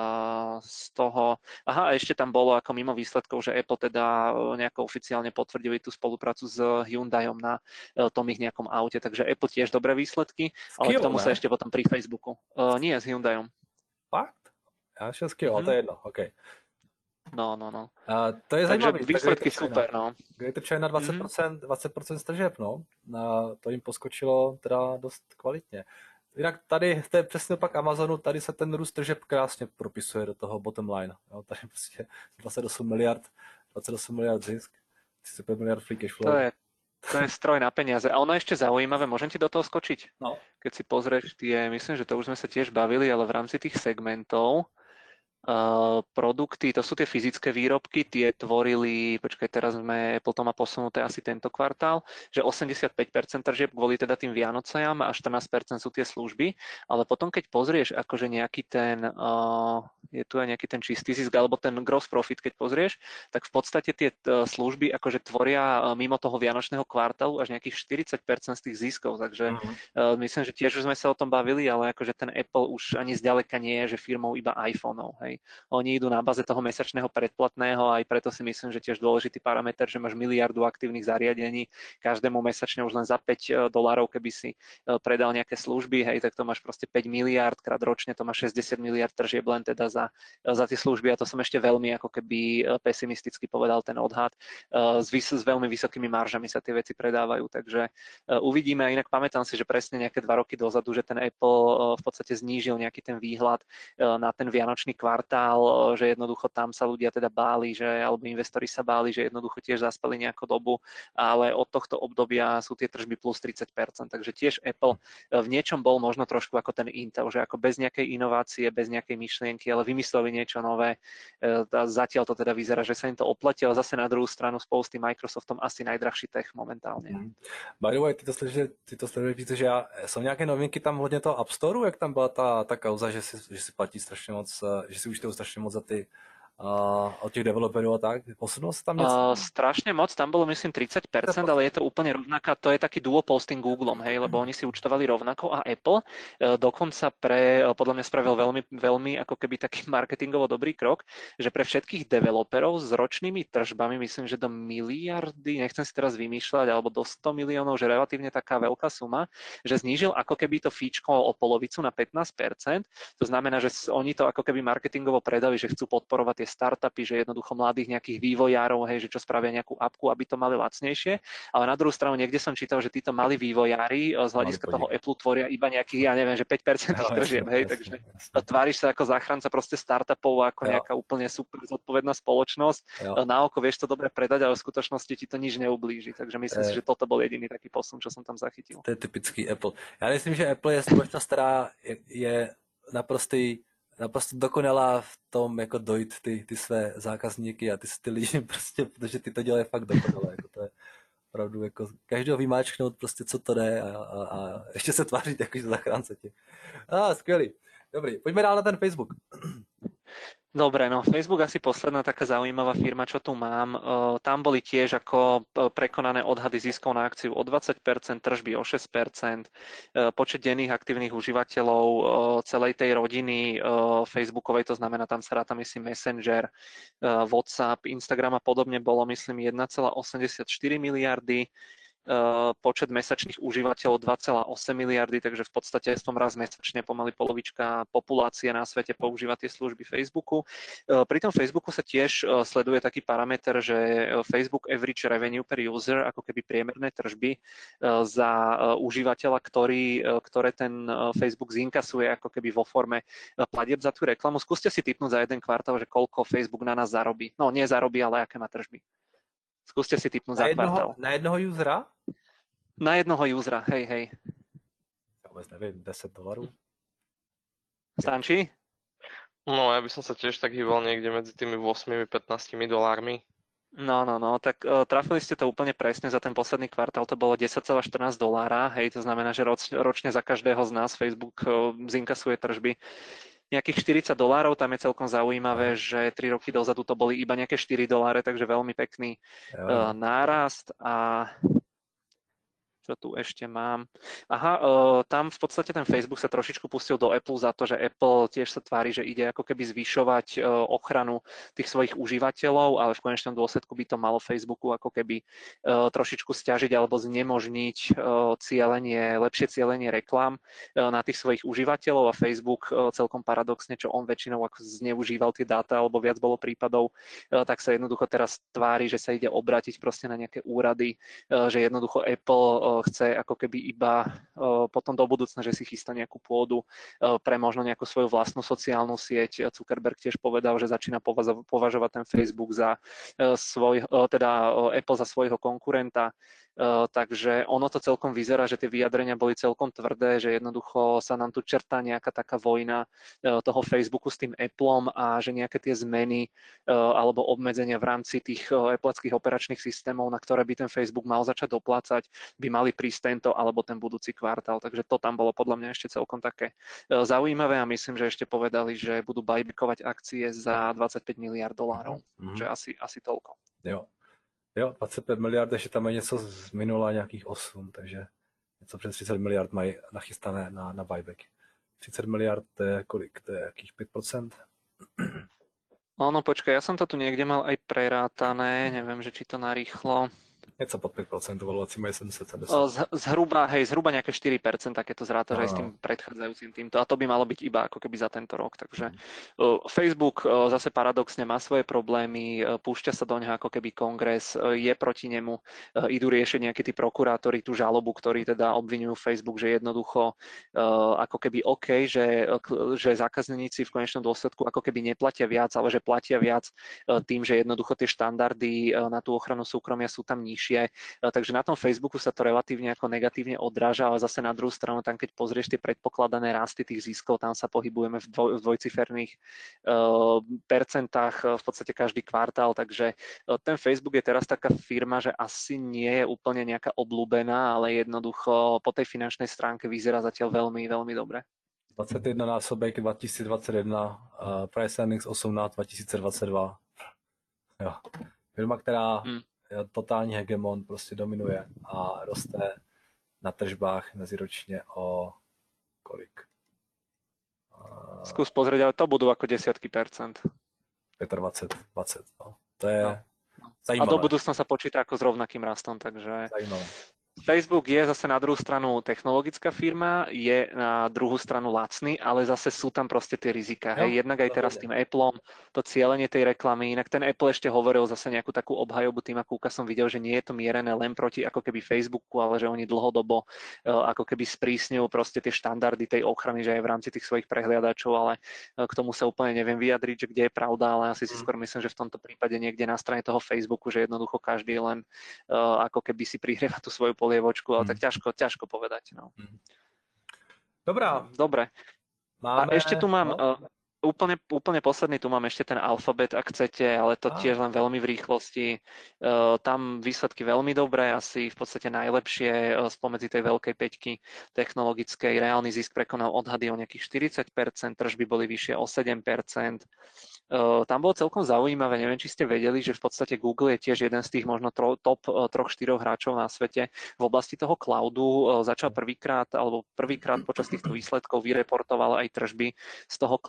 z toho, ešte tam bolo ako mimo výsledkov, že Apple teda nejako oficiálne potvrdili tú spoluprácu s Hyundaiom na tom ich nejakom aute, takže Apple tiež dobré výsledky, ale k tomu sa ešte potom pri Facebooku. Nie, s Hyundaiom. Fakt? Já šel s Kia, to je jedno, OK. No. To je zajímavé. Výsledky super, no. Greater China 20% stržeb, no. To jim poskočilo teda dost kvalitně. Jinak tady, to je přesně opak Amazonu, tady se ten růst tržeb krásně propisuje do toho bottom line. Jo, tady prostě 28 miliard zisk, 35 miliard free cash flow. To je stroj na peniaze. A ono ešte zaujímavé, môžem ti do toho skočiť? No. Keď si pozrieš myslím, že to už sme sa tiež bavili, ale v rámci tých segmentov, produkty, to sú tie fyzické výrobky, tie tvorili, teraz Apple to má posunuté asi tento kvartál, že 85% tržieb kvôli teda tým Vianociam a 14% sú tie služby, ale potom keď pozrieš akože nejaký ten, je tu aj nejaký ten čistý zisk, alebo ten gross profit, keď pozrieš, tak v podstate tie služby akože tvoria mimo toho vianočného kvartálu až nejakých 40% z tých ziskov, takže myslím, že tiež už sme sa o tom bavili, ale akože ten Apple už ani zďaleka nie je, že firmou iba iPhoneov, hej. Oni idú na báze toho mesačného predplatného, aj preto si myslím, že tiež dôležitý parameter, že máš miliardu aktívnych zariadení, každému mesačne už len za $5, keby si predal nejaké služby, hej, tak to máš proste 5 miliard krát ročne, to máš 60 miliard tržieb len teda za tie služby, a to som ešte veľmi ako keby pesimisticky povedal ten odhad. S veľmi vysokými maržami sa tie veci predávajú, takže uvidíme. A inak pamätám si, že presne nejaké 2 roky dozadu, že ten Apple v podstate znížil nejaký ten výhľad na ten vianočný kvartál, že jednoducho tam sa ľudia teda báli, alebo investori sa báli, že jednoducho tiež zaspali nejakú dobu, ale od tohto obdobia sú tie tržby plus 30%, takže tiež Apple v niečom bol možno trošku ako ten Intel, že ako bez nejakej inovácie, bez nejakej myšlienky, ale vymysleli niečo nové. Zatiaľ to teda vyzerá, že sa im to oplatí, ale zase na druhú stranu spolu s tým Microsoftom asi najdrahší tech momentálně. By the way, ty to sleduješ více, že jsou nějaké novinky tam hodně toho App Storeu, jak tam byla ta kauza, že si platí strašně moc, že si účtují strašně moc za ty od těch developerů a tak? Posunulo se tam něco? Strašne moc, tam bolo myslím 30%, ale je to úplne rovnaká, to je taký duopol s tým Googlom, hej, lebo oni si účtovali rovnako, a Apple dokonca podľa mňa spravil veľmi ako keby taký marketingovo dobrý krok, že pre všetkých developerov s ročnými tržbami, myslím, že do miliardy, nechcem si teraz vymýšľať, alebo do 100 miliónov, že relatívne taká veľká suma, že znížil ako keby to fíčko o polovicu na 15%, to znamená, že oni to ako keby marketingovo predali, že chcú podporovať tie startupy, že jednoducho mladých nejakých vývojárov, hej, že čo spravia nejakú appku, aby to mali lacnejšie, ale na druhú stranu niekde som čítal, že títo malí vývojári z hľadiska toho Apple tvoria iba nejakých, ja neviem, že 5% tých tržieb, hej, takže tváriš sa ako záchranca proste startupov, ako nejaká úplne super zodpovedná spoločnosť. Na oko vieš to dobre predať, ale v skutočnosti ti to nič neublíži, takže myslím si, že toto bol jediný taký posun, čo som tam zachytil. To je typický Apple. Já myslím, že Apple je společnost, která je naprosto dokonalá v tom, jako dojít ty své zákazníky a ty lidi prostě, protože ty to dělají fakt dokonale. Jako to je opravdu jako každého vymáčknout prostě, co to jde a ještě se tvářit jako zachránce tě. Skvělý. Dobrý, pojďme dál na ten Facebook. Dobre, no Facebook asi posledná taká zaujímavá firma, čo tu mám. Tam boli tiež ako prekonané odhady ziskov na akciu o 20%, tržby o 6%, počet denných aktívnych užívateľov celej tej rodiny Facebookovej, to znamená, tam sa ráta, myslím, Messenger, WhatsApp, Instagram a podobne bolo, myslím, 1,84 miliardy. počet mesačných užívateľov 2,8 miliardy, takže v podstate som raz mesačne pomaly polovička populácie na svete používa tie služby Facebooku. Pri tom Facebooku sa tiež sleduje taký parameter, že Facebook average revenue per user, ako keby priemerné tržby za užívateľa, ktoré ten Facebook zinkasuje ako keby vo forme platieb za tú reklamu. Skúste si tipnúť za jeden kvartál, že koľko Facebook na nás zarobí. No nie zarobí, ale aké má tržby. Skúste si tipnúť za kvartál. Na jednoho usera? Na jednoho usera, hej. Ja vôbec neviem, $10. Stančí? No, ja by som sa tiež tak hýbal niekde medzi tými 8-15 $. No, tak trafili ste to úplne presne, za ten posledný kvartál to bolo $10,14, hej, to znamená, že ročne za každého z nás Facebook zinkasuje tržby nejakých $40, tam je celkom zaujímavé, že 3 roky dozadu to boli iba nejaké $4, takže veľmi pekný nárast. A čo tu ešte mám? Aha, tam v podstate ten Facebook sa trošičku pustil do Apple za to, že Apple tiež sa tvári, že ide ako keby zvyšovať ochranu tých svojich užívateľov, ale v konečnom dôsledku by to malo Facebooku ako keby trošičku stiažiť alebo znemožniť lepšie cielenie reklám na tých svojich užívateľov a Facebook celkom paradoxne, čo on väčšinou ako zneužíval tie dáta alebo viac bolo prípadov, tak sa jednoducho teraz tvári, že sa ide obrátiť proste na nejaké úrady, že jednoducho Apple chce ako keby iba potom do budúcna, že si chystá nejakú pôdu pre možno nejakú svoju vlastnú sociálnu sieť. Zuckerberg tiež povedal, že začína považovať ten Facebook za Apple za svojho konkurenta. Takže ono to celkom vyzerá, že tie vyjadrenia boli celkom tvrdé, že jednoducho sa nám tu čertá nejaká taká vojna toho Facebooku s tým Appleom a že nejaké tie zmeny alebo obmedzenia v rámci tých Appleckých operačných systémov, na ktoré by ten Facebook mal začať doplácať, by mali prísť tento alebo ten budúci kvartál. Takže to tam bolo podľa mňa ešte celkom také zaujímavé a myslím, že ešte povedali, že budú buybackovať akcie za $25 miliard. Že asi toľko. Jo, 25 miliard, ještě tam je něco z minula nějakých 8, takže něco přes 30 miliard mají nachystané na buyback. 30 miliard, to je kolik? To je jakých 5%? No počkaj, ja som to tu niekde mal aj prerátané, neviem, že či to narýchlo. Něco pod 5%, valovací mají 770. Zhruba nejaké 4%, keď to zrátaš aj s tým predchádzajúcim týmto. A to by malo byť iba ako keby za tento rok. Takže Facebook zase paradoxne má svoje problémy, púšťa sa do neho ako keby kongres, je proti nemu, idú riešiť nejakí tí prokurátori tú žalobu, ktorí teda obvinujú Facebook, že jednoducho ako keby OK, že zákazníci v konečnom dôsledku ako keby neplatia viac, ale že platia viac tým, že jednoducho tie štandardy na tú ochranu súkromia sú tam nižšie. Takže na tom Facebooku sa to relatívne ako negatívne odráža, ale zase na druhú stranu, tam keď pozrieš tie predpokladané rasty tých ziskov, tam sa pohybujeme v dvojciferných percentách v podstate každý kvartál, takže ten Facebook je teraz taká firma, že asi nie je úplne nejaká obľúbená, ale jednoducho po tej finančnej stránke vyzerá zatiaľ veľmi, veľmi dobre. 21 násobek 2021, price earnings 18 2022. Jo. Firma, která totální hegemon, prostě dominuje a roste na tržbách meziročně o kolik? Skús pozrieť, ale to budú ako desiatky percent. 25, 20, no. To je A zajímavé. do budúcna sa počíta ako s rovnakým rastom, takže Zajímavé. Facebook je zase na druhú stranu technologická firma, je na druhú stranu lacný, ale zase sú tam proste tie rizika. Hej, jednak aj teraz s tým Appleom, to cielenie tej reklamy, inak ten Apple ešte hovoril zase nejakú takú obhajobu tým, ako som videl, že nie je to mierené len proti ako keby Facebooku, ale že oni dlhodobo ako keby sprísňujú proste tie štandardy tej ochrany, že aj v rámci tých svojich prehliadačov, ale k tomu sa úplne neviem vyjadriť, že kde je pravda, ale asi si skôr myslím, že v tomto prípade niekde na strane toho Facebooku, že jednoducho každý len ako keby si prihrieva tú svoju polievočku, ale tak ťažko povedať. No. Dobrá. Dobre. A ešte tu mám úplne posledný, tu mám ešte ten Alphabet, ak chcete, ale to tiež len veľmi v rýchlosti. Tam výsledky veľmi dobré, asi v podstate najlepšie spomedzi tej veľkej päťky technologickej. Reálny zisk prekonal odhady o nejakých 40%, tržby boli vyššie o 7%. Tam bolo celkom zaujímavé, neviem, či ste vedeli, že v podstate Google je tiež jeden z tých možno top 3-4 hráčov na svete v oblasti toho cloudu. Začal prvýkrát počas týchto výsledkov vyreportoval aj tržby z toho cloudu, tie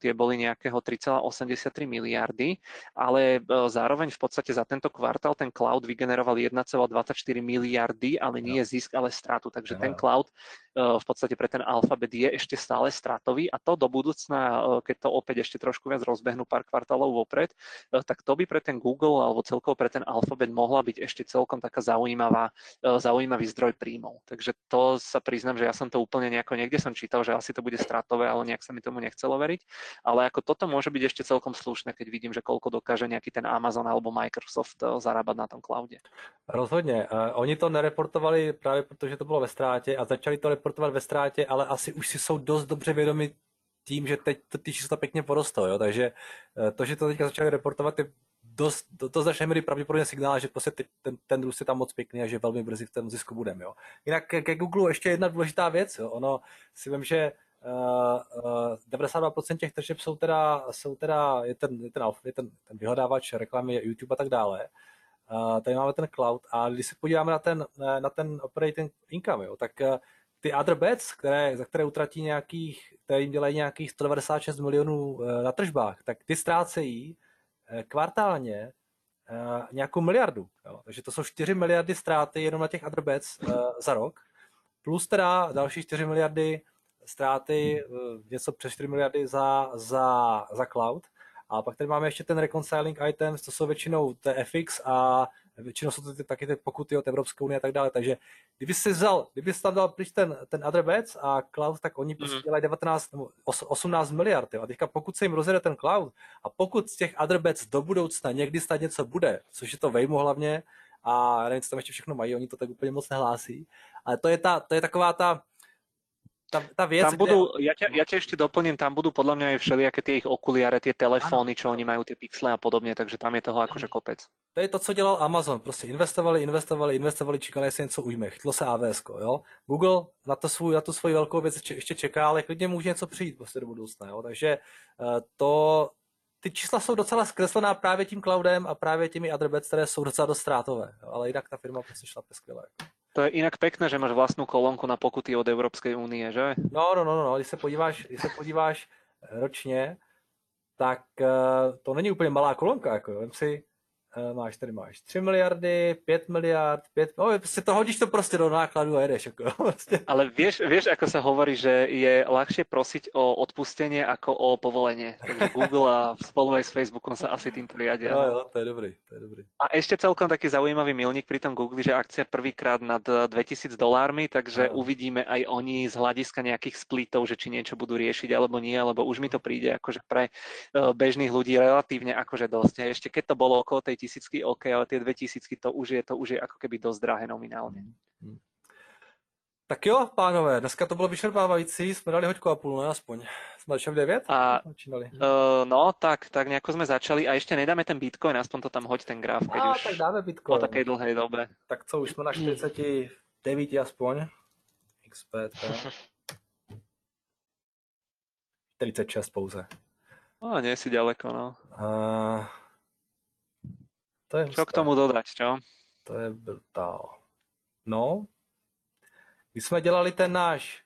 investície boli nejakého 3,83 miliardy, ale zároveň v podstate za tento kvartál ten cloud vygeneroval 1,24 miliardy, ale nie zisk, ale stratu. Takže ten cloud v podstate pre ten Alphabet je ešte stále stratový a to do budúcna, keď to opäť ešte trošku viac rozbehnú pár kvartálov vopred, tak to by pre ten Google alebo celkovo pre ten Alphabet mohla byť ešte celkom taká zaujímavý zdroj príjmov. Takže to sa priznám, že ja som to úplne niekde som čítal, že asi to bude stratové, ale nejak sa mi tomu nechcelo veriť. Ale ako toto môže byť ešte celkom slušné, keď vidím, že koľko dokáže nejaký ten Amazon alebo Microsoft zarábať na tom cloude. Rozhodně. Oni to nereportovali právě protože to bylo ve ztrátě a začali to reportovat ve ztrátě, ale asi už si jsou dost dobře vědomi tím, že teď ty čísla pěkně porostou, jo? Takže to, že to teďka začali reportovat, je do značné míry pravděpodobně signál, že prostě ten růst je tam moc pěkný a že velmi brzy v tom zisku budeme. Jo? Jinak ke Google ještě jedna důležitá věc. Jo? Ono si vím, že 92% těch tržeb jsou teda je ten vyhledávač reklamy, YouTube a tak dále. Tady máme ten cloud a když se podíváme na ten operating income, jo, tak ty other bets, za které utratí které jim dělají nějakých 196 milionů na tržbách, tak ty ztrácejí kvartálně nějakou miliardu. Jo. Takže to jsou 4 miliardy ztráty jenom na těch other bets za rok, plus teda další 4 miliardy ztráty, něco přes 4 miliardy za cloud. A pak tady máme ještě ten reconciling items, to jsou většinou FX a většinou jsou to taky ty pokuty od Evropské unie a tak dále. Takže kdyby si tam dal pryč ten other bets a cloud, tak oni prostě dělají 18 miliard. Jo. A teďka pokud se jim rozjede ten cloud a pokud z těch other bets do budoucna někdy snad něco bude, což je to Waymo hlavně, a nevím, co tam ještě všechno mají, oni to tak úplně moc nehlásí, ale to je taková tá věc, tam budú, ja ťa ešte doplním, tam budú podľa mňa aj všelijaké tie ich okuliare, tie telefóny, čo oni majú, tie pixle a podobne, takže tam je toho akože kopec. To je to, co dělal Amazon, prostě investovali, čekali, jestli něco ujme, chytlo se AWS, jo. Google na tu svoji velkou věc ještě čeká, ale klidně může něco přijít prostě do budoucna, jo. Takže ty čísla jsou docela zkreslená právě tím cloudem a právě těmi other bets, které jsou docela dost ztrátové, jo. Ale jinak ta firma prostě šlape skvěle. Jako. To je inak pekné, že máš vlastnú kolónku na pokuty od Európskej únie, že? No, když se podíváš ročně, tak to není úplně malá kolonka, jako jo. Vem si, máš 3 miliardy, 5 miliard, prostě to hodíš to prostě do nákladu a jedeš. Jako, prostě. Ale vieš, ako sa hovorí, že je ľahšie prosiť o odpustenie ako o povolenie. Takže Google a spolu aj s Facebookom sa asi týmto riadia. Jo, to je dobrý. A ešte celkom taký zaujímavý milník pri tom Google, že akcia prvýkrát nad $2000, takže uvidíme aj oni z hľadiska nejakých splitov, že či niečo budú riešiť alebo nie, lebo už mi to príde akože pre bežných ľudí relatívne akože dosť. A ešte keď to bolo okolo tej 1000, OK, ale tie 2000 to už je ako keby dosť drahé nominálne. Tak jo, pánové, dneska to bylo vyčerpávající, jsme dali hoďku a půl, ne aspoň. Jsme začali v 9? No, tak nejako sme začali a ešte nedáme ten Bitcoin, aspoň to tam hoď ten graf, keď už tak dáme Bitcoin. Po takej dlhej dobe. Tak co, už jsme na 49 aspoň. XPT. 46 pouze. No, nie si ďaleko, no. To je čo k tomu dodať, čo? To je brutál. No, když jsme dělali ten náš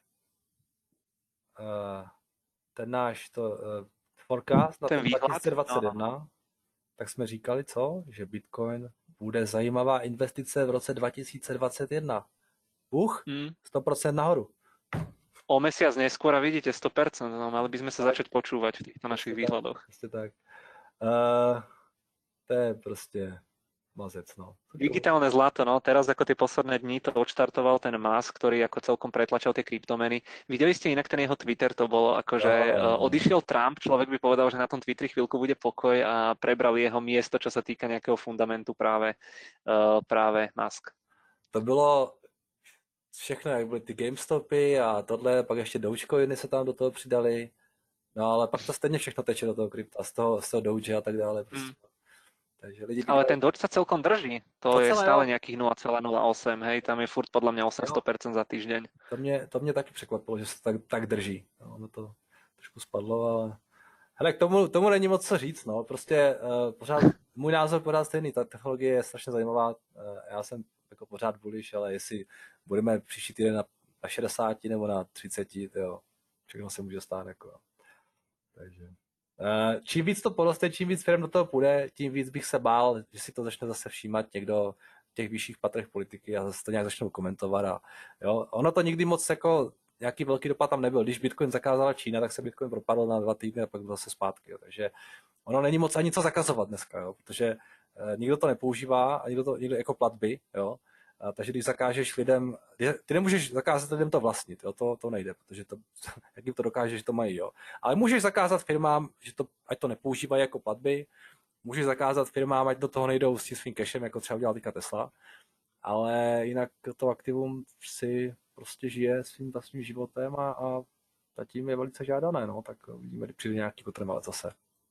forecast na ten 2021, tak jsme říkali, co? Že Bitcoin bude zajímavá investice v roce 2021. 100% nahoru. O mesiac neskôr a vidíte 100%, no mali by sme sa začať počúvať v týchto našich výhľadoch. Tak. To je prostě mazec, no. Digitálne zlato, no. Teraz ako tie posledné dni to odštartoval ten Musk, ktorý ako celkom pretlačal tie kryptomeny. Videli ste inak ten jeho Twitter, to bolo ako, že odišiel Trump, človek by povedal, že na tom Twitteri chvíľku bude pokoj a prebral jeho miesto, čo sa týka nejakého fundamentu práve Musk. To bylo všechno, jak byly ty GameStopy a tohle, pak ještě Dogecoiny se tam do toho přidali. No ale pak to stejně všechno teče do toho krypta, z toho Doge a tak dále. Prostě. Takže lidi ale ten Doge sa celkom drží. To je stále nejakých 0,08, hej, tam je furt podľa mňa 800% za týždeň. To mě taky překvapilo, že se tak drží. No, ono to trošku spadlo, ale hele, k tomu není moc co říct, no. Prostě pořád, můj názor pořád stejný, ta technologie je strašně zajímavá. Já jsem jako pořád bullish, ale jestli budeme příští týden na 60 nebo na 30, jo, všechno se může stát, jako. Takže Čím víc to poroste, čím víc firm do toho půjde, tím víc bych se bál, že si to začne zase všímat někdo v těch vyšších patrech politiky a zase to nějak začnou komentovat. A, jo. Ono to nikdy moc jako nějaký velký dopad tam nebyl. Když Bitcoin zakázala Čína, tak se Bitcoin propadl na 2 týdny a pak byl zase zpátky. Jo. Takže ono není moc ani co zakazovat dneska, jo, protože nikdo to nepoužívá a nikdo jako platby. Jo. A takže když zakážeš lidem, ty nemůžeš zakázat lidem to vlastnit, jo, to nejde, protože to, jak jim to dokážeš, že to mají, jo. Ale můžeš zakázat firmám, že to, ať to nepoužívají jako platby, můžeš zakázat firmám, ať do toho nejdou s tím svým cashem, jako třeba udělal teďka Tesla, ale jinak to aktivum si prostě žije svým vlastním životem a zatím je velice žádané, no, tak uvidíme, kdy přijde nějaký potrvalec zase.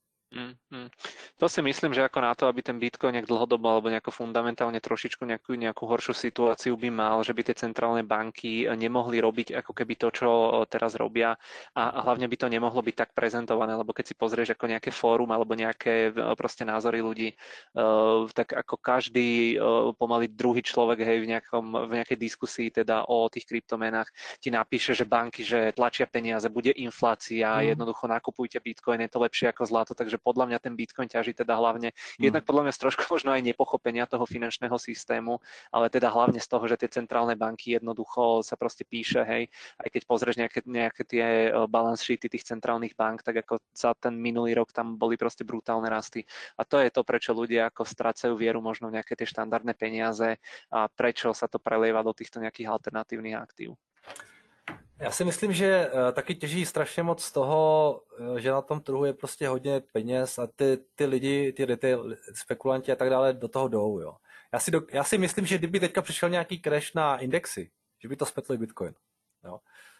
To si myslím, že ako na to, aby ten Bitcoin nejak dlhodobo alebo nejako fundamentálne trošičku nejakú horšiu situáciu by mal, že by tie centrálne banky nemohli robiť ako keby to, čo teraz robia a hlavne by to nemohlo byť tak prezentované, lebo keď si pozrieš ako nejaké fórum alebo nejaké proste názory ľudí, tak ako každý pomaly druhý človek, hej, v nejakej diskusii teda o tých kryptomenách ti napíše, že banky, že tlačia peniaze, bude inflácia, jednoducho nakupujte Bitcoin, je to lepšie ako zlato, takže podľa mňa ten Bitcoin ťaží teda hlavne, jednak podľa mňa z trošku možno aj nepochopenia toho finančného systému, ale teda hlavne z toho, že tie centrálne banky jednoducho sa proste píše, hej, aj keď pozrieš nejaké tie balance sheety tých centrálnych bank, tak ako za ten minulý rok tam boli proste brutálne rasty. A to je to, prečo ľudia ako strácajú vieru možno v nejaké tie štandardné peniaze a prečo sa to prelieva do týchto nejakých alternatívnych aktív. Já si myslím, že taky těží strašně moc z toho, že na tom trhu je prostě hodně peněz a ty lidi, ty retail spekulanti a tak dále do toho jdou. Jo. Já si myslím, že kdyby teďka přišel nějaký crash na indexy, že by to smetlo Bitcoin. Jo.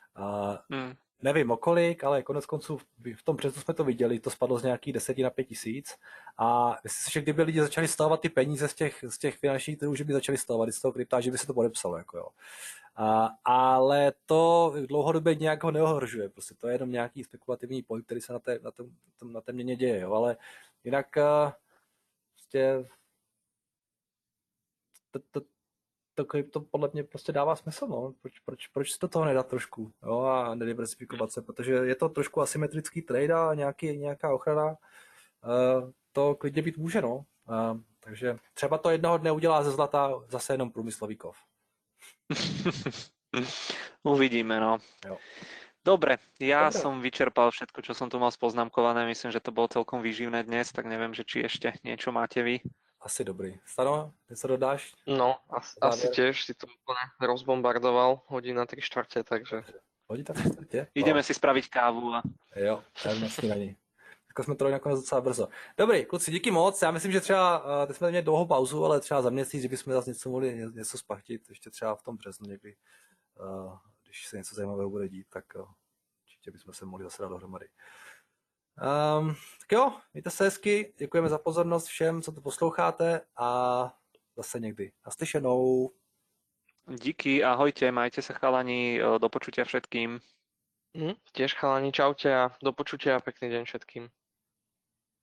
Nevím o kolik, ale konec konců v tom březnu jsme to viděli, to spadlo z nějakých 10 na 5 tisíc a myslím si, že kdyby lidi začali stahovat ty peníze z těch finančních trhů, že by začali stahovat z toho krypta, že by se to podepsalo. Jako jo. Ale to dlouhodobě nějak ho neohrožuje, prostě to je jenom nějaký spekulativní pohyb, který se na té měně děje, jo. Ale jinak prostě to podle mě prostě dává smysl, no. Proč si do toho nedat trošku, jo, a nediversifikovat se, protože je to trošku asymetrický trade a nějaká ochrana to klidně být může, no. Takže třeba to jednoho dne udělá ze zlata zase jenom průmyslový kov. Uvidíme, no. Jo. Dobre, som vyčerpal všetko, čo som tu mal spoznámkované. Myslím, že to bolo celkom výživné dnes, tak neviem, že či ešte niečo máte vy. Asi dobrý. Stano, něco dodáš? No, asi tiež si to úplne rozbombardoval, hodina 3/4, takže... Hodina 3/4? Ideme si spraviť kávu. Jo, na snídaní. Tak jsme to nakonec docela brzo. Dobrý, kluci, díky moc. Já myslím, že třeba, teď jsme měli dlouhou pauzu, ale třeba za měsíc, kdybychom zase něco mohli něco spachtit, ještě třeba v tom březnu někdy, když se něco zajímavého bude dít, tak určitě bychom se mohli zase dát dohromady. Tak jo, mějte se hezky, děkujeme za pozornost všem, co to posloucháte a zase někdy. Naslyšenou. Díky, ahojte, majte sa chalani, do počutia všetkým. Tiež chalani, čaute a do počutia a pekný deň všetkým.